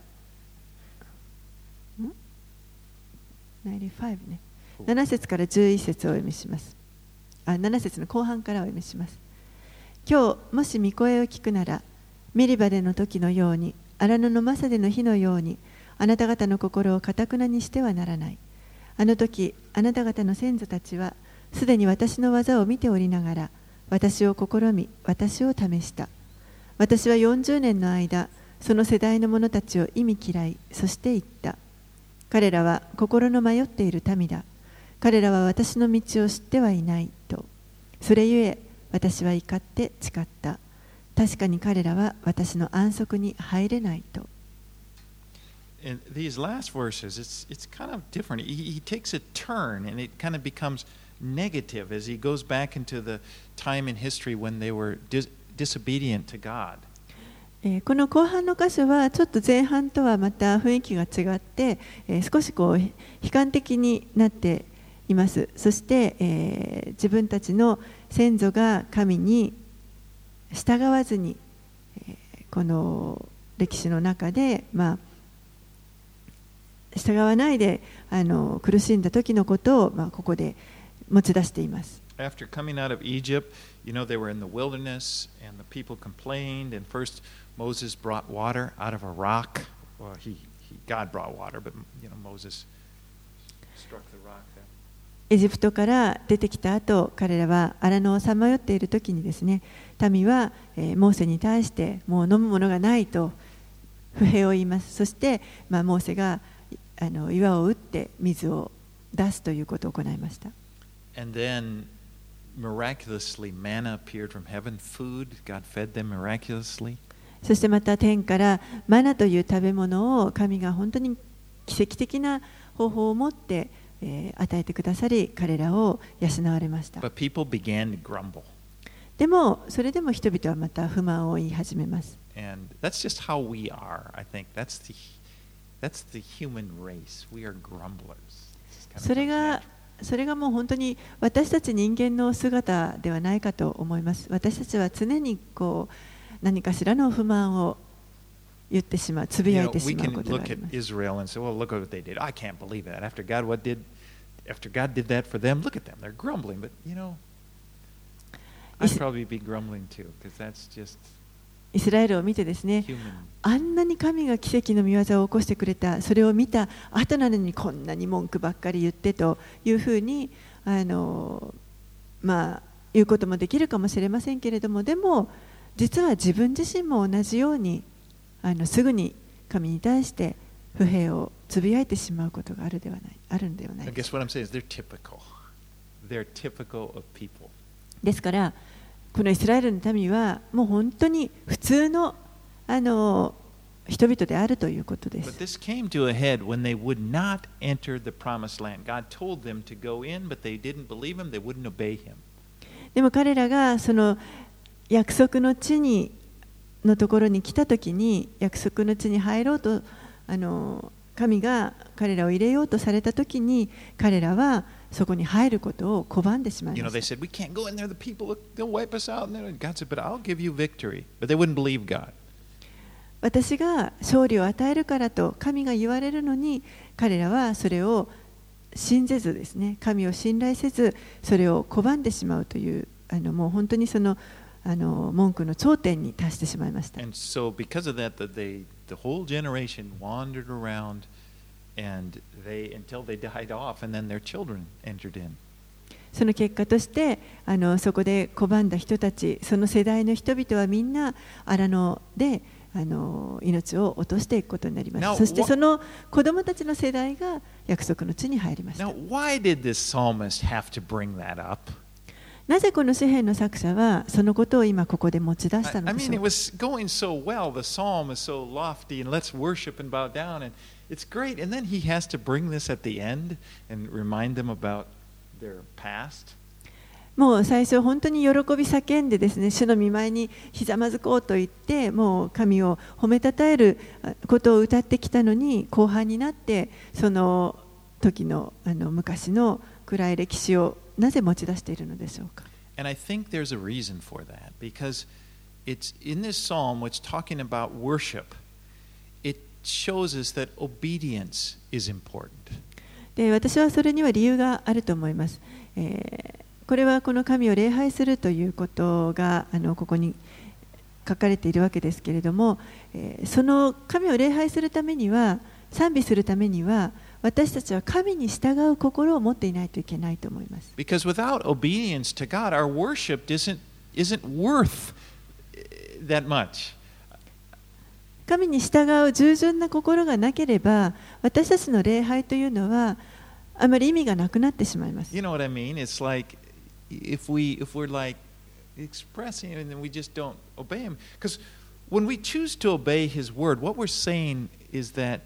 きゅうじゅうごね。なな節からじゅういち節をお読みします。あ、なな節の後半からお読みします。今日もし御声を聞くなら、メリバでの時のように、荒野のマサでの日のように、あなた方の心を堅くなにしてはならない。あの時、あなた方の先祖たちは、すでに私の技を見ておりながら、私を試み、私を試した。私はよんじゅうねんの間、その世代の者たちを意味嫌い、そして言った。彼らは心の迷っている民だ。彼らは私の道を知ってはいないと。それゆえ、私は怒って誓った。確かに彼らは私の安息に入れないと。 In these last verses, it's, it's kind of different. He, he takes a turn and it kind of becomes negative as he goes back into the time in history when they were dis, disobedient to God. この後半の箇所はちょっと前半とはまた雰囲気が違って、えー、少しこう悲観的になっています。そして、えー、自分たちの先祖が神に従わずに、えー、この歴史の中で、まあ、従わないであの苦しんだ時のことを、まあ、ここで持ち出しています。 After coming out of Egypt, you know, they were in the wilderness and the people complained. And first, Moses brought water out of a rock. Well, he, he God brought water, but you know, Moses struck the rock there. エジプトから出てきた後、彼らは荒野をさまよっている時にですね、民は、えー、モーセに対してもう飲むものがないと不平を言います。そして、まあ、モーセがあの岩を打って水を出すということを行いました。 And then miraculously manna appeared from heaven, food. God fed them miraculously. そしてまた天からマナという食べ物を神が本当に奇跡的な方法を持ってえー、与えてくださり、彼らを養われました。 But people began to grumble. でも、それでも人々はまた不満を言い始めます。 And that's just how we are, I think. That's the, that's the human race. We are grumblers. それが、それがもう本当に私たち人間の姿ではないかと思います。私たちは常にこう何かしらの不満を言ってしまう、つぶやいてしまうことがあります。 You know, we can look at Israel and say, well, look what they did. I can't believe that. After God, what did, after God did that for them, look at them. They're grumbling. But, you know, I'd probably be grumbling too, because that's just イスラエルを見てですね、 human. あんなに神が奇跡の御業を起こしてくれた、それを見た後なのにこんなに文句ばっかり言ってというふうに、あの、まあ、言うこともできるかもしれませんけれども、でも、実は自分自身も同じように、あのすぐに神に対して不平をつぶやいてしまうことがあるではない、あるんではないです。 I guess what I'm saying is they're typical. They're typical of people. ですからこのイスラエルの民はもう本当に普通のあの人々であるということで But す。 this came to a head when they would not enter the promised land. God told them to go in, but they didn't believe him, they wouldn't obey him. でも彼らがその約束の地にのところに来たときに、約束の地に入ろうとあの神が彼らを入れようとされたときに、彼らはそこに入ることを拒んでしまい You know, ま they した。 said, we can't go in there, the people, they'll wipe us out. And then God said, but I'll give you victory. But they wouldn't believe God. 私が勝利を与えるからと神が言われるのに、彼らはそれを信ぜずですね、神を信頼せず、それを拒んでしまうという、あのもう本当にそのあの文句の頂点に達してしまいました。 And so because of that, that they, the whole generation wandered around and they, until they died off, and then their children entered in. その結果としてあのそこで拒んだ人たち、その世代の人々はみんな荒野であの命を落としていくことになります。 Now, そしてその子供たちの世代が約束の地に入りました。 Now, why did this psalmist have to bring that up? なぜこの詩篇の作者はそのことを今ここで持ち出した I, の I でし mean, ょ it うか。 was going so well. The psalm is so lofty, and let's worship and bow down, and it's great. And then he has to bring this at the end and remind them about their past. もう最初本当に喜び叫んでですね、主の御前にひざまずこうと言って、もう神を褒めたたえることを歌ってきたのに、後半になってその時のあの昔の暗い歴史をなぜ持ち出しているのでしょうか。 And I think there's a reason for that, because it's in this psalm, which talking about worship, it shows us that obedience is important. で、私はそれには理由があると思います。えーこれはこの神を礼拝するということがあのここに書かれているわけですけれども、えー、その神を礼拝するためには、賛美するためには、私たちは神に従う心を持っていないといけないと思います。 Because without obedience to God, our worship isn't, isn't worth that much. 神に従う従順な心がなければ、私たちの礼拝というのはあまり意味がなくなってしまいます。 You know what I mean? It's like if we if we're like expressing it and then we just don't obey him. Because when we choose to obey his word, what we're saying is that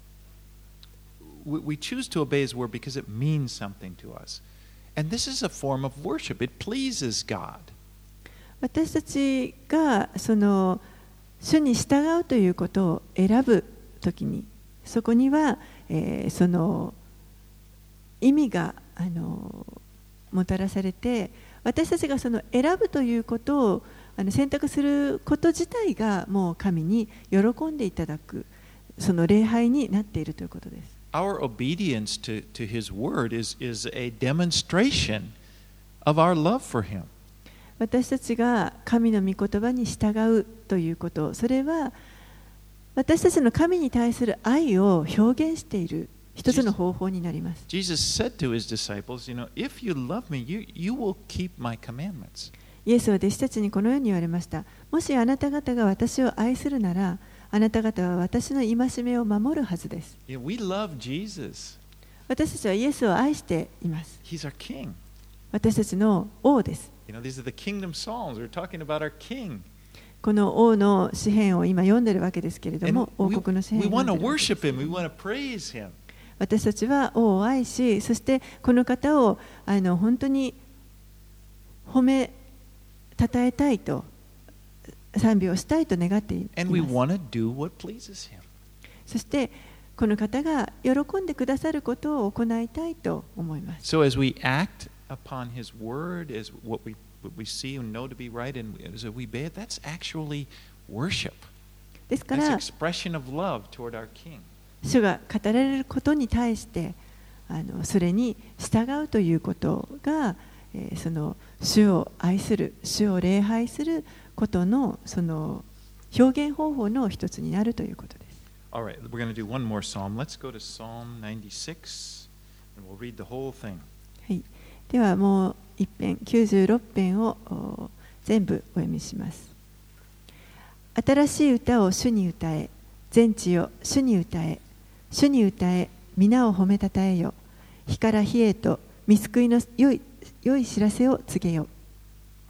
we, we choose to obey his word because it means something to us. And this is a form of worship. It pleases God. 私たちがその主に従うということを選ぶときに、そこには、えー、その意味があのもたらされて、私たちがその選ぶということをあの選択すること自体がもう神に喜んでいただく、その礼拝になっているということです。 Our obedience to, to his word is, is a demonstration of our love for him. 私たちが神の御言葉に従うということ、それは私たちの神に対する愛を表現している一つの方法になります。 Jesus said to his disciples, you know, if you love me, you, you will keep my commandments. イエスは弟子たちにこのように言われました。もしあなた方が私を愛するなら、あなた方は私の戒めを守るはずです。 Yeah, we love Jesus. 私たちはイエスを愛しています。 He's our king. 私たちの王です。 You know, these are the kingdom psalms. We're talking about our king. この王の詩篇を今読んでいるわけですけれど And も、王 we, 国の詩 we 篇を want 読ん to でいるわけです worship him. We want to praise him. 私たちは王を愛し、そしてこの方をあの本当に褒めたたえたいと、賛美をしたいと願ってい And we ます。 want to do what pleases him. そしてこの方が喜んでくださることを行いたいと思います。 So as we act upon his word, as what we, what we see and know to be right, and as we obey it, that's actually worship. ですか That's ら、 expression of love toward our king. 主が語られることに対してあのそれに従うということが、えー、その主を愛する、主を礼拝することのその表現方法の一つになるということです。 All right, we're going to do one more psalm. Let's go to Psalm ninety-six, and we'll read the whole thing. はい、ではもう一編きゅうじゅうろく編をお全部お読みします。新しい歌を主に歌え、全地よ主に歌え、主に歌え、皆を褒めたたえよ。日から日へと御救いの良い良い知らせを告げよ。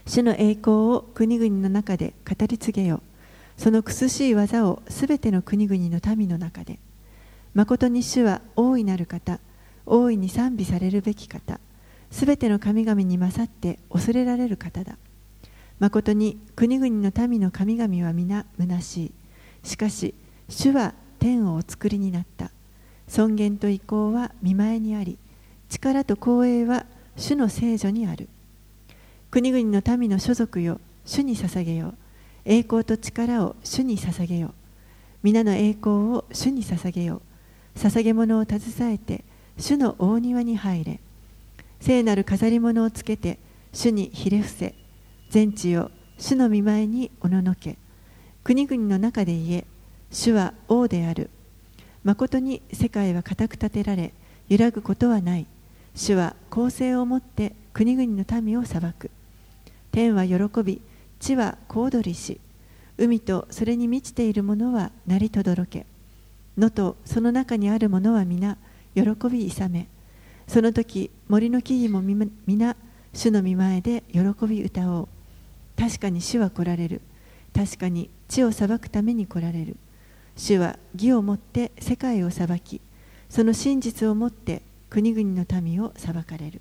主の栄光を国々の中で語り継げよ。その苦しい技をすべての国々の民の中で。誠に主は大いなる方、大いに賛美されるべき方、すべての神々に勝って恐れられる方だ。誠に国々の民の神々は皆虚しい。しかし、主は天をお作りになった。尊厳と威光は御前にあり、力と光栄は主の聖女にある。国々の民の所属よ、主に捧げよ。栄光と力を主に捧げよ。皆の栄光を主に捧げよ。捧げ物を携えて、主の大庭に入れ。聖なる飾り物をつけて、主にひれ伏せ。全地よ、主の御前におののけ。国々の中で言え、主は王である。誠に世界は固く立てられ、揺らぐことはない。主は公正をもって国々の民を裁く。天は喜び、地は小躍りし、海とそれに満ちているものは鳴りとどろけ。野とその中にあるものは皆喜び勇め。その時、森の木々も皆主の御前で喜び歌おう。確かに主は来られる。確かに地を裁くために来られる。主は義をもって世界を裁き、その真実をもって国々の民を裁かれる。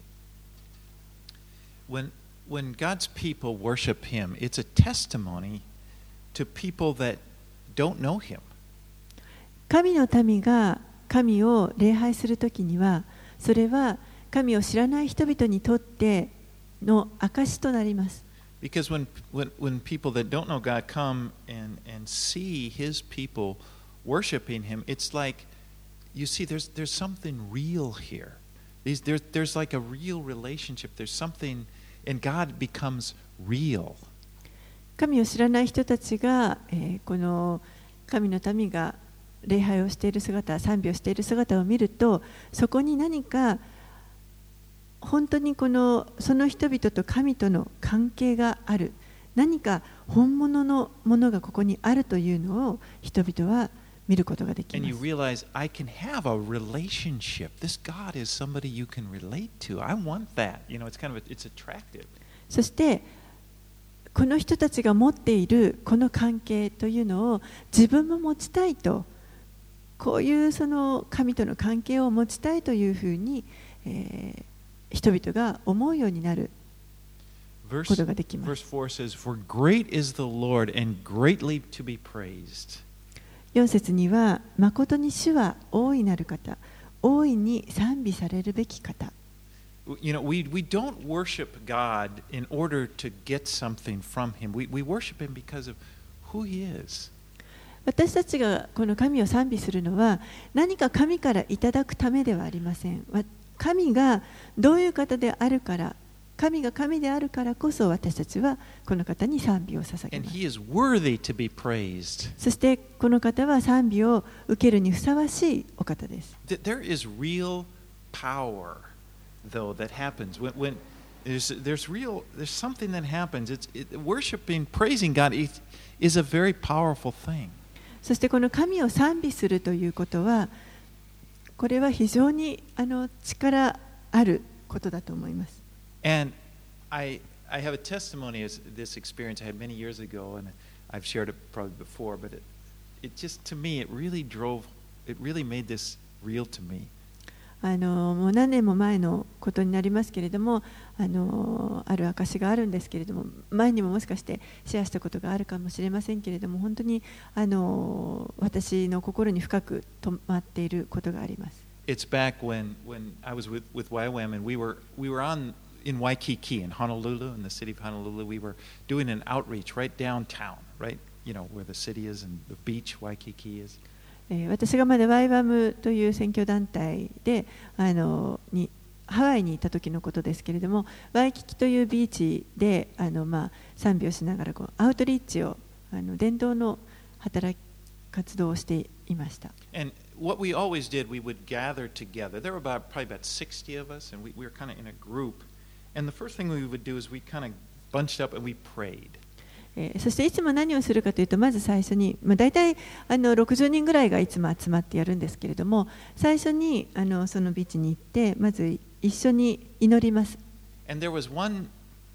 When, when God's people worship Him, it's a testimony to people that don't know Him. 神の民が神を礼拝するときには、それは神を知らない人々にとっての証となります。 Because when, when, when people that don't know God come and, and see His people worshiping Him, it's like, you see, there's, there's something real here. These, there's, there's like a real relationship. There's something, and God becomes real. 神を知らない人たちが、えー、この神の民が礼拝をしている姿、賛美をしている姿を見ると、そこに何か本当にこのその人々と神との関係がある、何か本物のものがここにあるというのを人々は見ることができます。 And you realize, I can have a relationship. This God is somebody you can relate to. I want that. You know, it's kind of a, it's attractive. そしてこの人たちが持っているこの関係というのを自分も持ちたいと、こういうその神との関係を持ちたいというふうに、えー人々が思うようになることができます。 Verse four says, For great is the Lord and greatly to be praised. よん節には、誠に主は大いなる方、大いに賛美されるべき方。 You know, we, we don't worship God in order to get something from Him. We, we worship Him because of who He is. 私たちがこの神を賛美するのは、何か神からいただくためではありません。神がどういう方であるから、神が神であるからこそ私たちはこの方に賛美を捧げます。 And he is worthy to be praised. そしてこの方は賛美を受けるにふさわしいお方です。 There is real power, though, that happens when, when there's, there's real, there's something that happens. It's, it, worshiping, praising God is, is a very powerful thing. そしてこの神を賛美するということは、これは非常にあの力あることだと思います。 And I, I have a testimony of this experience I had many years ago, and I've shared it probably before, but it, it just, to me, it really drove, it really made this real to me. あのもう何年も前のことになりますけれども、あのある証があるんですけれども、前にももしかしてシェアしたことがあるかもしれませんけれども、本当にあの私の心に深く留まっていることがあります。 It's back when, when I was with, with Y WAM, and we were, we were on in Waikiki, in Honolulu, in the city of Honolulu. We were doing an outreach right downtown, right, you know, where the city is and the beach, Waikiki is. 私がまだ ワイワム という選挙団体であのにハワイにいた時のことですけれども、ワイキキというビーチであの、まあ、賛美をしながらこうアウトリーチをあの伝道の働き活動をしていました。 And what we always did, we would gather together. There were about probably about sixty of us, and we, we were kind of in a group. And the first thing we would do is we kind of bunched up and we prayed. えー、そしていつも何をするかというと、まず最初に、まあ、大体あのろくじゅうにんぐらいがいつも集まってやるんですけれども、最初にあのそのビーチに行ってまず一緒に祈ります。 And there was one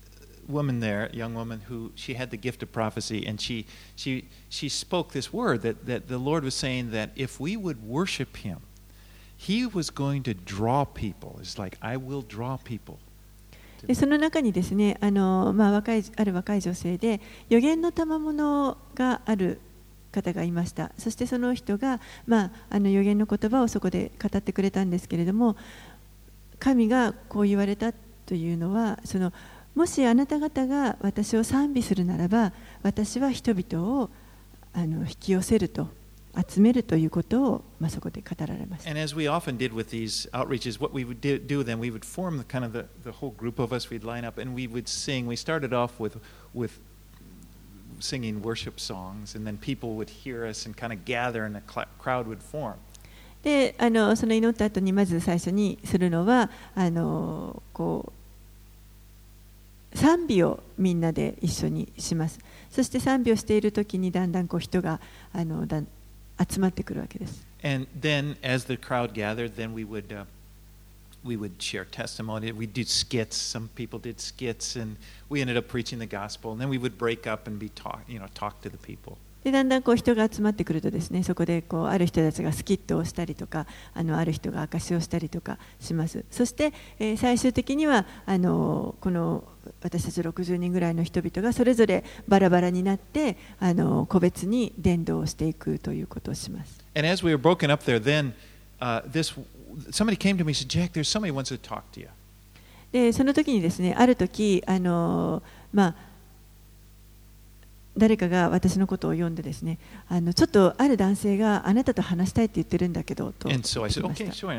woman there, a young woman, who she had the gift of prophecy, and she she she spoke this word that, that the Lord was saying that if we would worship Him, He was going to draw people. It's like, I will draw people. でその中にですね、あのまあ、若いある若い女性で預言の賜物がある方がいました。そしてその人が、まあ、あの預言の言葉をそこで語ってくれたんですけれども、神がこう言われたというのは、そのもしあなた方が私を賛美するならば、私は人々をあの引き寄せると。集めるということを、まあ、そこで語られました。 And as we often did with these outreaches, what we would do, do then, we would form the kind of the, the whole group of us, we'd line up and we would sing. We started off with, with singing worship songs, and then people would hear us and kind of gather and a crowd would form. で、あのその祈った後にまず最初にするのは、あのこう賛美をみんなで一緒にします。そして賛美をしている時にだんだんこう人があのだん集まってくるわけです。 And then, as the crowd gathered, then we would uh, we would share testimony. We did skits. Some people did skits, and we ended up preaching the gospel. And then we would break up and be talk, you know, talk to the people. でだんだんこう人が集まってくるとですね、そこでこうある人たちがスキットをしたりとか、あのある人が証しをしたりとかします。そして、えー、最終的にはあのこの私たちろくじゅうにんぐらいの人々がそれぞれバラバラになってあの個別に伝道をしていくということをします。 And as we were broken up there, then uh, this somebody came to me and said, "Jack, there's somebody who wants to talk to you." でその時にですね、ある時あのまあ誰かが私のことを呼んでですね、あのちょっとある男性があなたと話したいって言ってるんだけどと言ってました。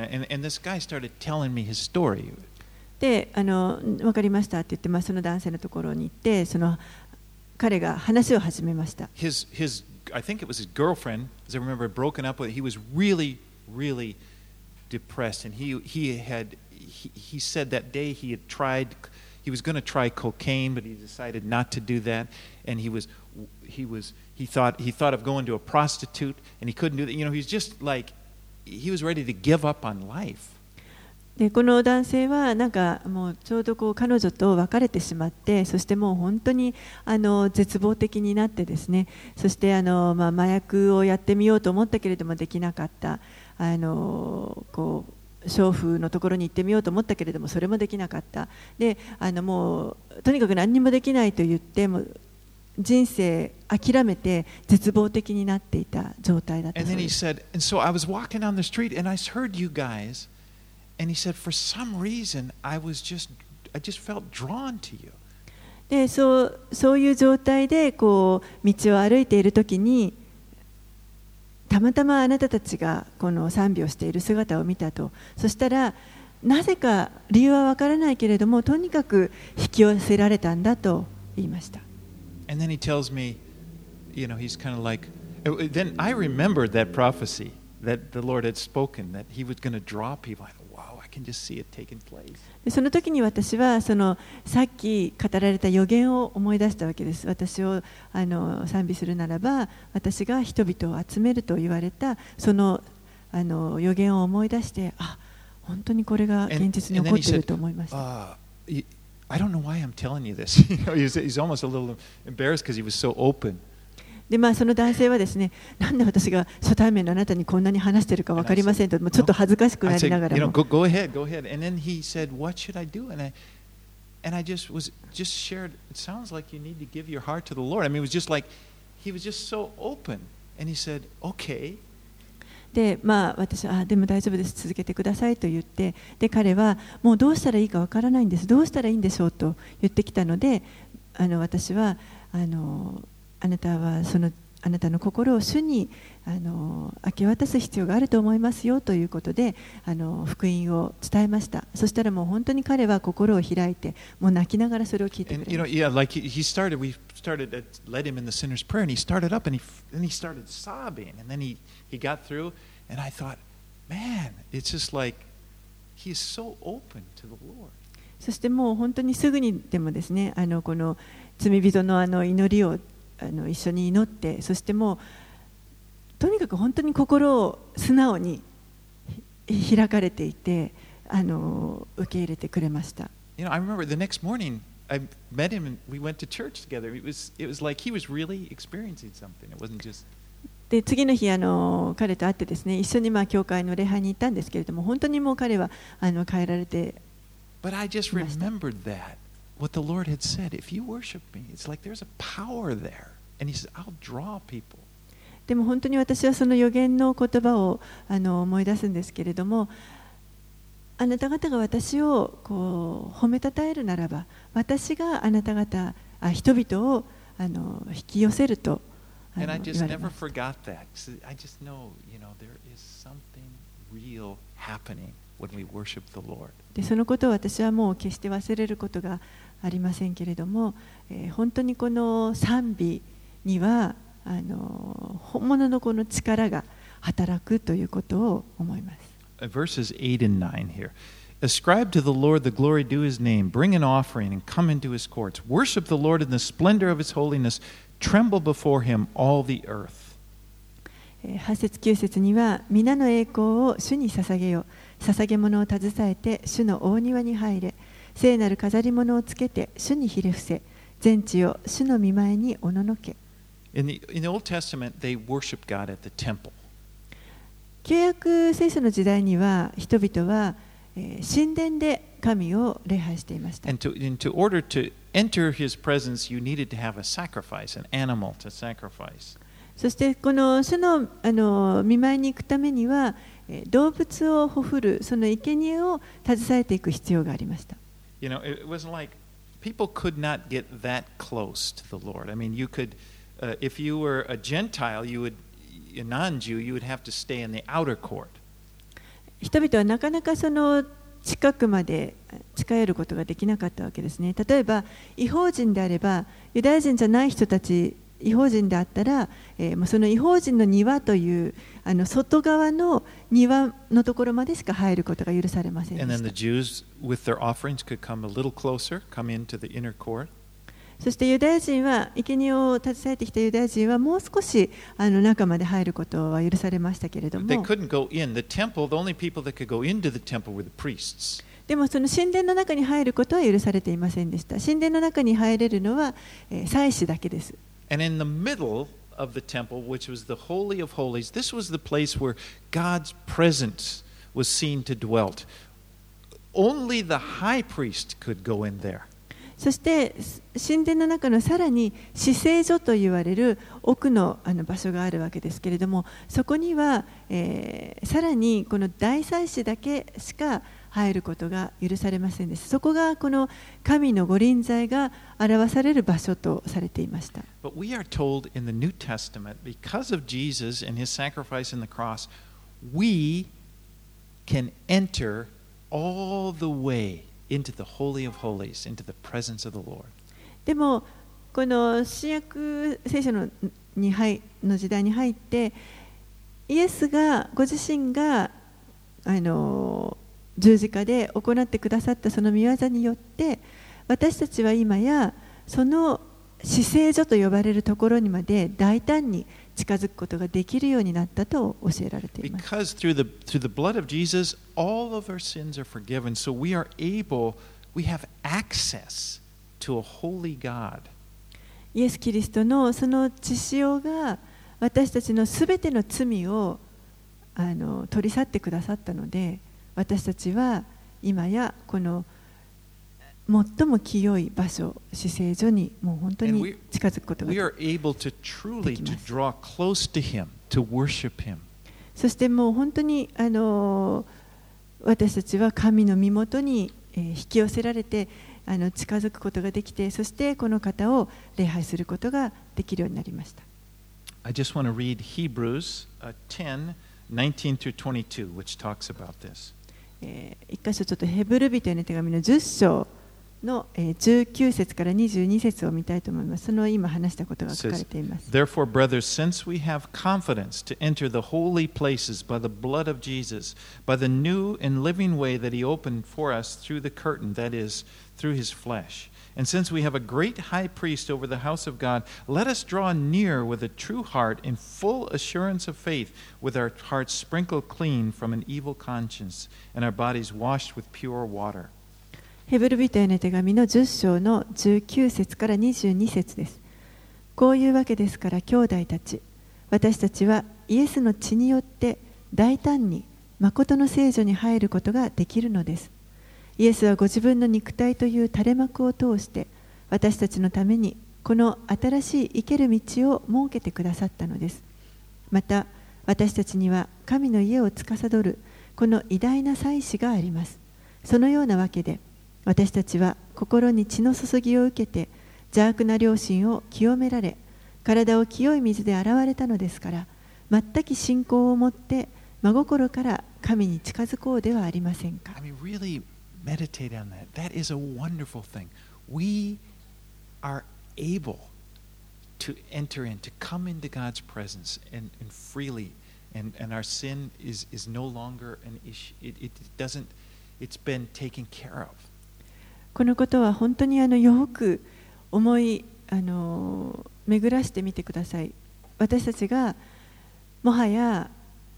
で、あの分かりましたって言って、まあ、その男性のところに行って、その彼が話を始めました。 His, his, I think it was his girlfriend, as I remember, broken up with. He was really, really depressed, and he he had he, he said that day he had tried. He was going to try cocaine, but he decided not to do that, and he was he was he thought he thought of going to a prostitute, and he couldn't do that. You know, he's just like he was ready to give up on life. でこの男性はなんかもうちょうどこう彼女と別れてしまって、そしてもう本当にあの絶望的になってですね、そしてあの、まあ、麻薬をやってみようと思ったけれどもできなかった、あのこう娼婦のところに行ってみようと思ったけれどもそれもできなかった。であのもうとにかく何にもできないと言っても人生諦めて絶望的になっていた状態だったそうです。 And then he said, and so I was walking down the street and I heard you guys. And he said, for some reason, I was just, I just felt drawn to you. で、そう、そういう状態でこう道を歩いているときに、たまたまあなたたちがこの賛美をしている姿を見たと。そしたら、なぜか理由はわからないけれども、とにかく引き寄せられたんだと言いました。 And then he tells me, you know, he's kind of like, then I remembered that prophecy that the Lord had spoken, that he was going to draw people. でその時に私はそのさっき語られた予言を思い出したわけです。私をあの賛美するならば私が人々を集めると言われたそのあの予言を思い出して、あ、本当にこれが現実に起こっていると思いました。 I don't know why I'm telling you this. You know, he's, he's almost a little embarrassed because he was so open. でまあ、その男性はですね、なんで私が初対面のあなたにこんなに話しているか分かりませんと、もうちょっと恥ずかしくなりながらも。 Go, go ahead, go ahead. And then he said, what should I do? And I, and I just was just shared, it sounds like you need to give your heart to the Lord. I mean, it was just like, he was just so open. And he said, okay. で、まあ、私は、あ、でも大丈夫です、続けてくださいと言って、で、彼は、もうどうしたらいいか分からないんです、どうしたらいいんでしょうと言ってきたので、あの私は、あの、あなたはそのあなたの心を主にあの明け渡す必要があると思いますよということであの福音を伝えました。そしたらもう本当に彼は心を開いてもう泣きながらそれを聞いてくれました。 You know, yeah, like he, he started, we started, uh, led him in the sinner's prayer, and he started up, and he, and he started sobbing, and then he, he got through, and I thought, man, it's just like he is so open to the Lord. そしてもう本当にすぐにでもですね、あのこの罪人のあの祈りをあの一緒に祈って、そしてもうとにかく本当に心を素直に開かれていて、あの受け入れてくれました。 You know, I remember the next morning, I met him and we went to church together. It was, it was like he was really experiencing something. It wasn't just... で次の日あの彼と会ってですね、一緒にまあ教会の礼拝に行ったんですけれども、本当にもう彼はあの変えられて But I just remembered that, what the Lord had said. If you worship me, it's like there's a power there. And he says, I'll draw people. でも本当に私はその預言の言葉をあの思い出すんですけれども、あなた方が私をこう褒めたたえるならば、私があなた方、あ人々をあの引き寄せると And I just never forgot that. I just know, you know, there is something real happening when we worship the Lord. でそのことを私はもう決して忘れることがありませんけれども、えー、本当にこの賛美にはあの本物のこの力が働くということを思います。 Verses eight and nine here. Ascribe to the Lord the glory due his name. Bring an offering and come into his courts. Worship the Lord in the splendor of his holiness. Tremble before him, all the earth. はち節きゅう節には皆の栄光を主に捧げよ。捧げ物を携えて主の大庭に入れ。聖なる飾り物をつけて主にひれ伏せ。全地を主の御前におののけ。 In the, in the Old Testament, they worshiped God at the temple. 旧約聖書の時代には人々は、えー、神殿で神を礼拝していました。 And to, and to order to enter his presence, you needed to have a sacrifice, an animal to sacrifice. そしてこの主のあの御前に行くためには、えー、動物をほふるその生贄を携えていく必要がありました。 You know, it wasn't like people could not get that close to the Lord. I mean, you could, uh, if you were a Gentile, you would, a non-Jew, you would have to stay in the outer court. 人々はなかなかその近くまで近寄ることができなかったわけですね。例えば、異邦人であれば、ユダヤ人じゃない人たち、異邦人であったら、えー、もうその異邦人の庭というあの外側の庭のところまでしか入ることが許されませんでした。 And then the Jews, with their offerings, could come a little closer, come into the inner court. そしてユダヤ人は、生贄を携えてきたユダヤ人はもう少しあの中まで入ることは許されましたけれども、 They couldn't go in. The temple, the only people that could go into the temple were the priests. でもその神殿の中に入ることは許されていませんでした。神殿の中に入れるのは、えー、祭司だけです。 And in the middle of the temple, which was the Holy of Holies, this was the place where God's presence was seen to dwell. Only the high priest could go in there. そして神殿の中のさらに至聖所と言われる奥のあの場所があるわけですけれども、そこには、えー、さらにこの大祭司だけしか入ることが許されませんでした。そこがこの神の御臨在が表される場所とされていました。 But we are told in the New Testament, because of Jesus and his sacrifice in the cross, we can enter all the way into the Holy of Holies, into the presence of the Lord. でもこの新約聖書のに入の時代に入って、イエスがご自身があの十字架で行ってくださったその御業によって、私たちは今やその至聖所と呼ばれるところにまで大胆に近づくことができるようになったと教えられています。 Because through the, through the blood of Jesus, all of our sins are forgiven. So we are able, we have access to a holy God. イエス・キリストのその血潮が私たちのすべての罪をあの取り去ってくださったので、私たちは今やこの最も清い場所、至聖所にもう本当に近づくことができます。 We are able to truly to draw close to Him, to worship Him. そしてもう本当にあの私たちは神の身元に引き寄せられてあの近づくことができて、そしてこの方を礼拝することができるようになりました。 I just want to read Hebrews ten, nineteen through twenty-two, which talks about this. 一箇所ちょっとヘブル人への手紙のじゅっ章のじゅうきゅう節からにじゅうに節を見たいと思います。その今話したことが書かれています。 Therefore, brothers, since we have confidence to enter the holy places by the blood of Jesus, by the new and living way that He opened for us through the curtain, that is, through His flesh. And since we have a great high priest over the house of God, let us draw near with a true heart in full assurance of faith, with our hearts sprinkled clean from an evil conscience and our bodies washed with pure water. ヘブル人への手紙のじゅっ章のじゅうきゅう節からにじゅうに節です。こういうわけですから兄弟たち、私たちはイエスの血によって大胆に誠の聖女に入ることができるのです。イエスはご自分の肉体という垂れ幕を通して私たちのためにこの新しい生ける道を設けてくださったのです。また私たちには神の家を司るこの偉大な祭司があります。そのようなわけで私たちは心に血の注ぎを受けて邪悪な良心を清められ、体を清い水で洗われたのですから、全く信仰を持って真心から神に近づこうではありませんか。 I mean, really meditate on that. That is a wonderful thing. We are able to enter in, to come into God's presence and, and freely, and, and our sin is, is no longer an issue. It, it doesn't, it's been taken care of. このことは本当にあのよく思いあの巡らしてみてください。私たちがもはや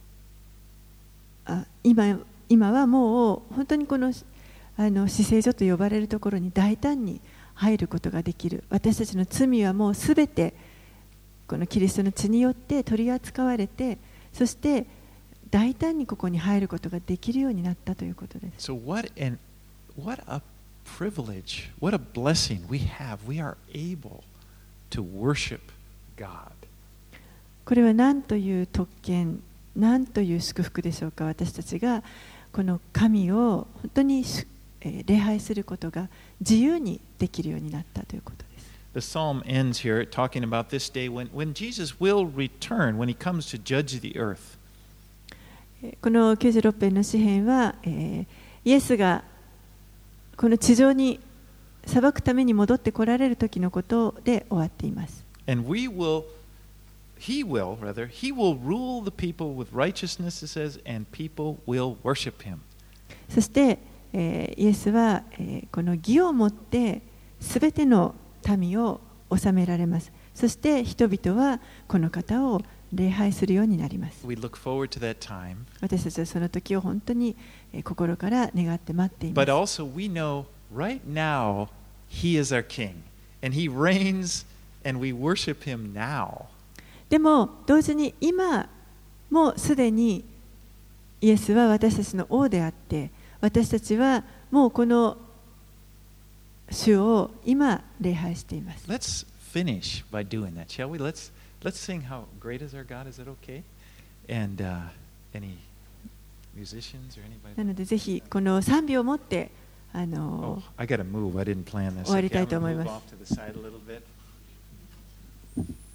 あ 今, 今はもう本当にこのあの至聖所と呼ばれるところに大胆に入ることができる。私たちの罪はもうすべてこのキリストの血によって取り扱われて、そして大胆にここに入ることができるようになったということです。 So what an, what a privilege, what a blessing we have. We are able to worship God. これは何という特権、何という祝福でしょうか。私たちがこの神を本当に礼拝することが自由にできるようになったということです。 The psalm ends here talking about this day when, when Jesus will return, when he comes to judge the earth. このきゅうじゅうろく編の詩編は、えー、イエスがこの地上に裁くために戻って来られる時のことで終わっています。 And we will, he will, rather, he will rule the people with righteousness, it says, and people will worship him. そして、えー、イエスは、えー、この義をもってすべての民を治められます。そして人々はこの方を礼拝するようになります。 We look forward to that time. 私たちはその時を本当に心から願って待っています。 But also we know right now he is our king and he reigns and we worship him now. でも同時に今もうすでにイエスは私たちの王であって、私たちはもうこの主を今礼拝しています。 Let's finish by doing that, shall we? Let's let's sing how great is our God. Is that okay? And uh, any musicians or anybody? なのでぜひこの賛美を持ってあ Oh, の I got to move. I didn't plan this. 終わり Okay, たい I'm と going 思い to ま move す。 off to the side a little bit.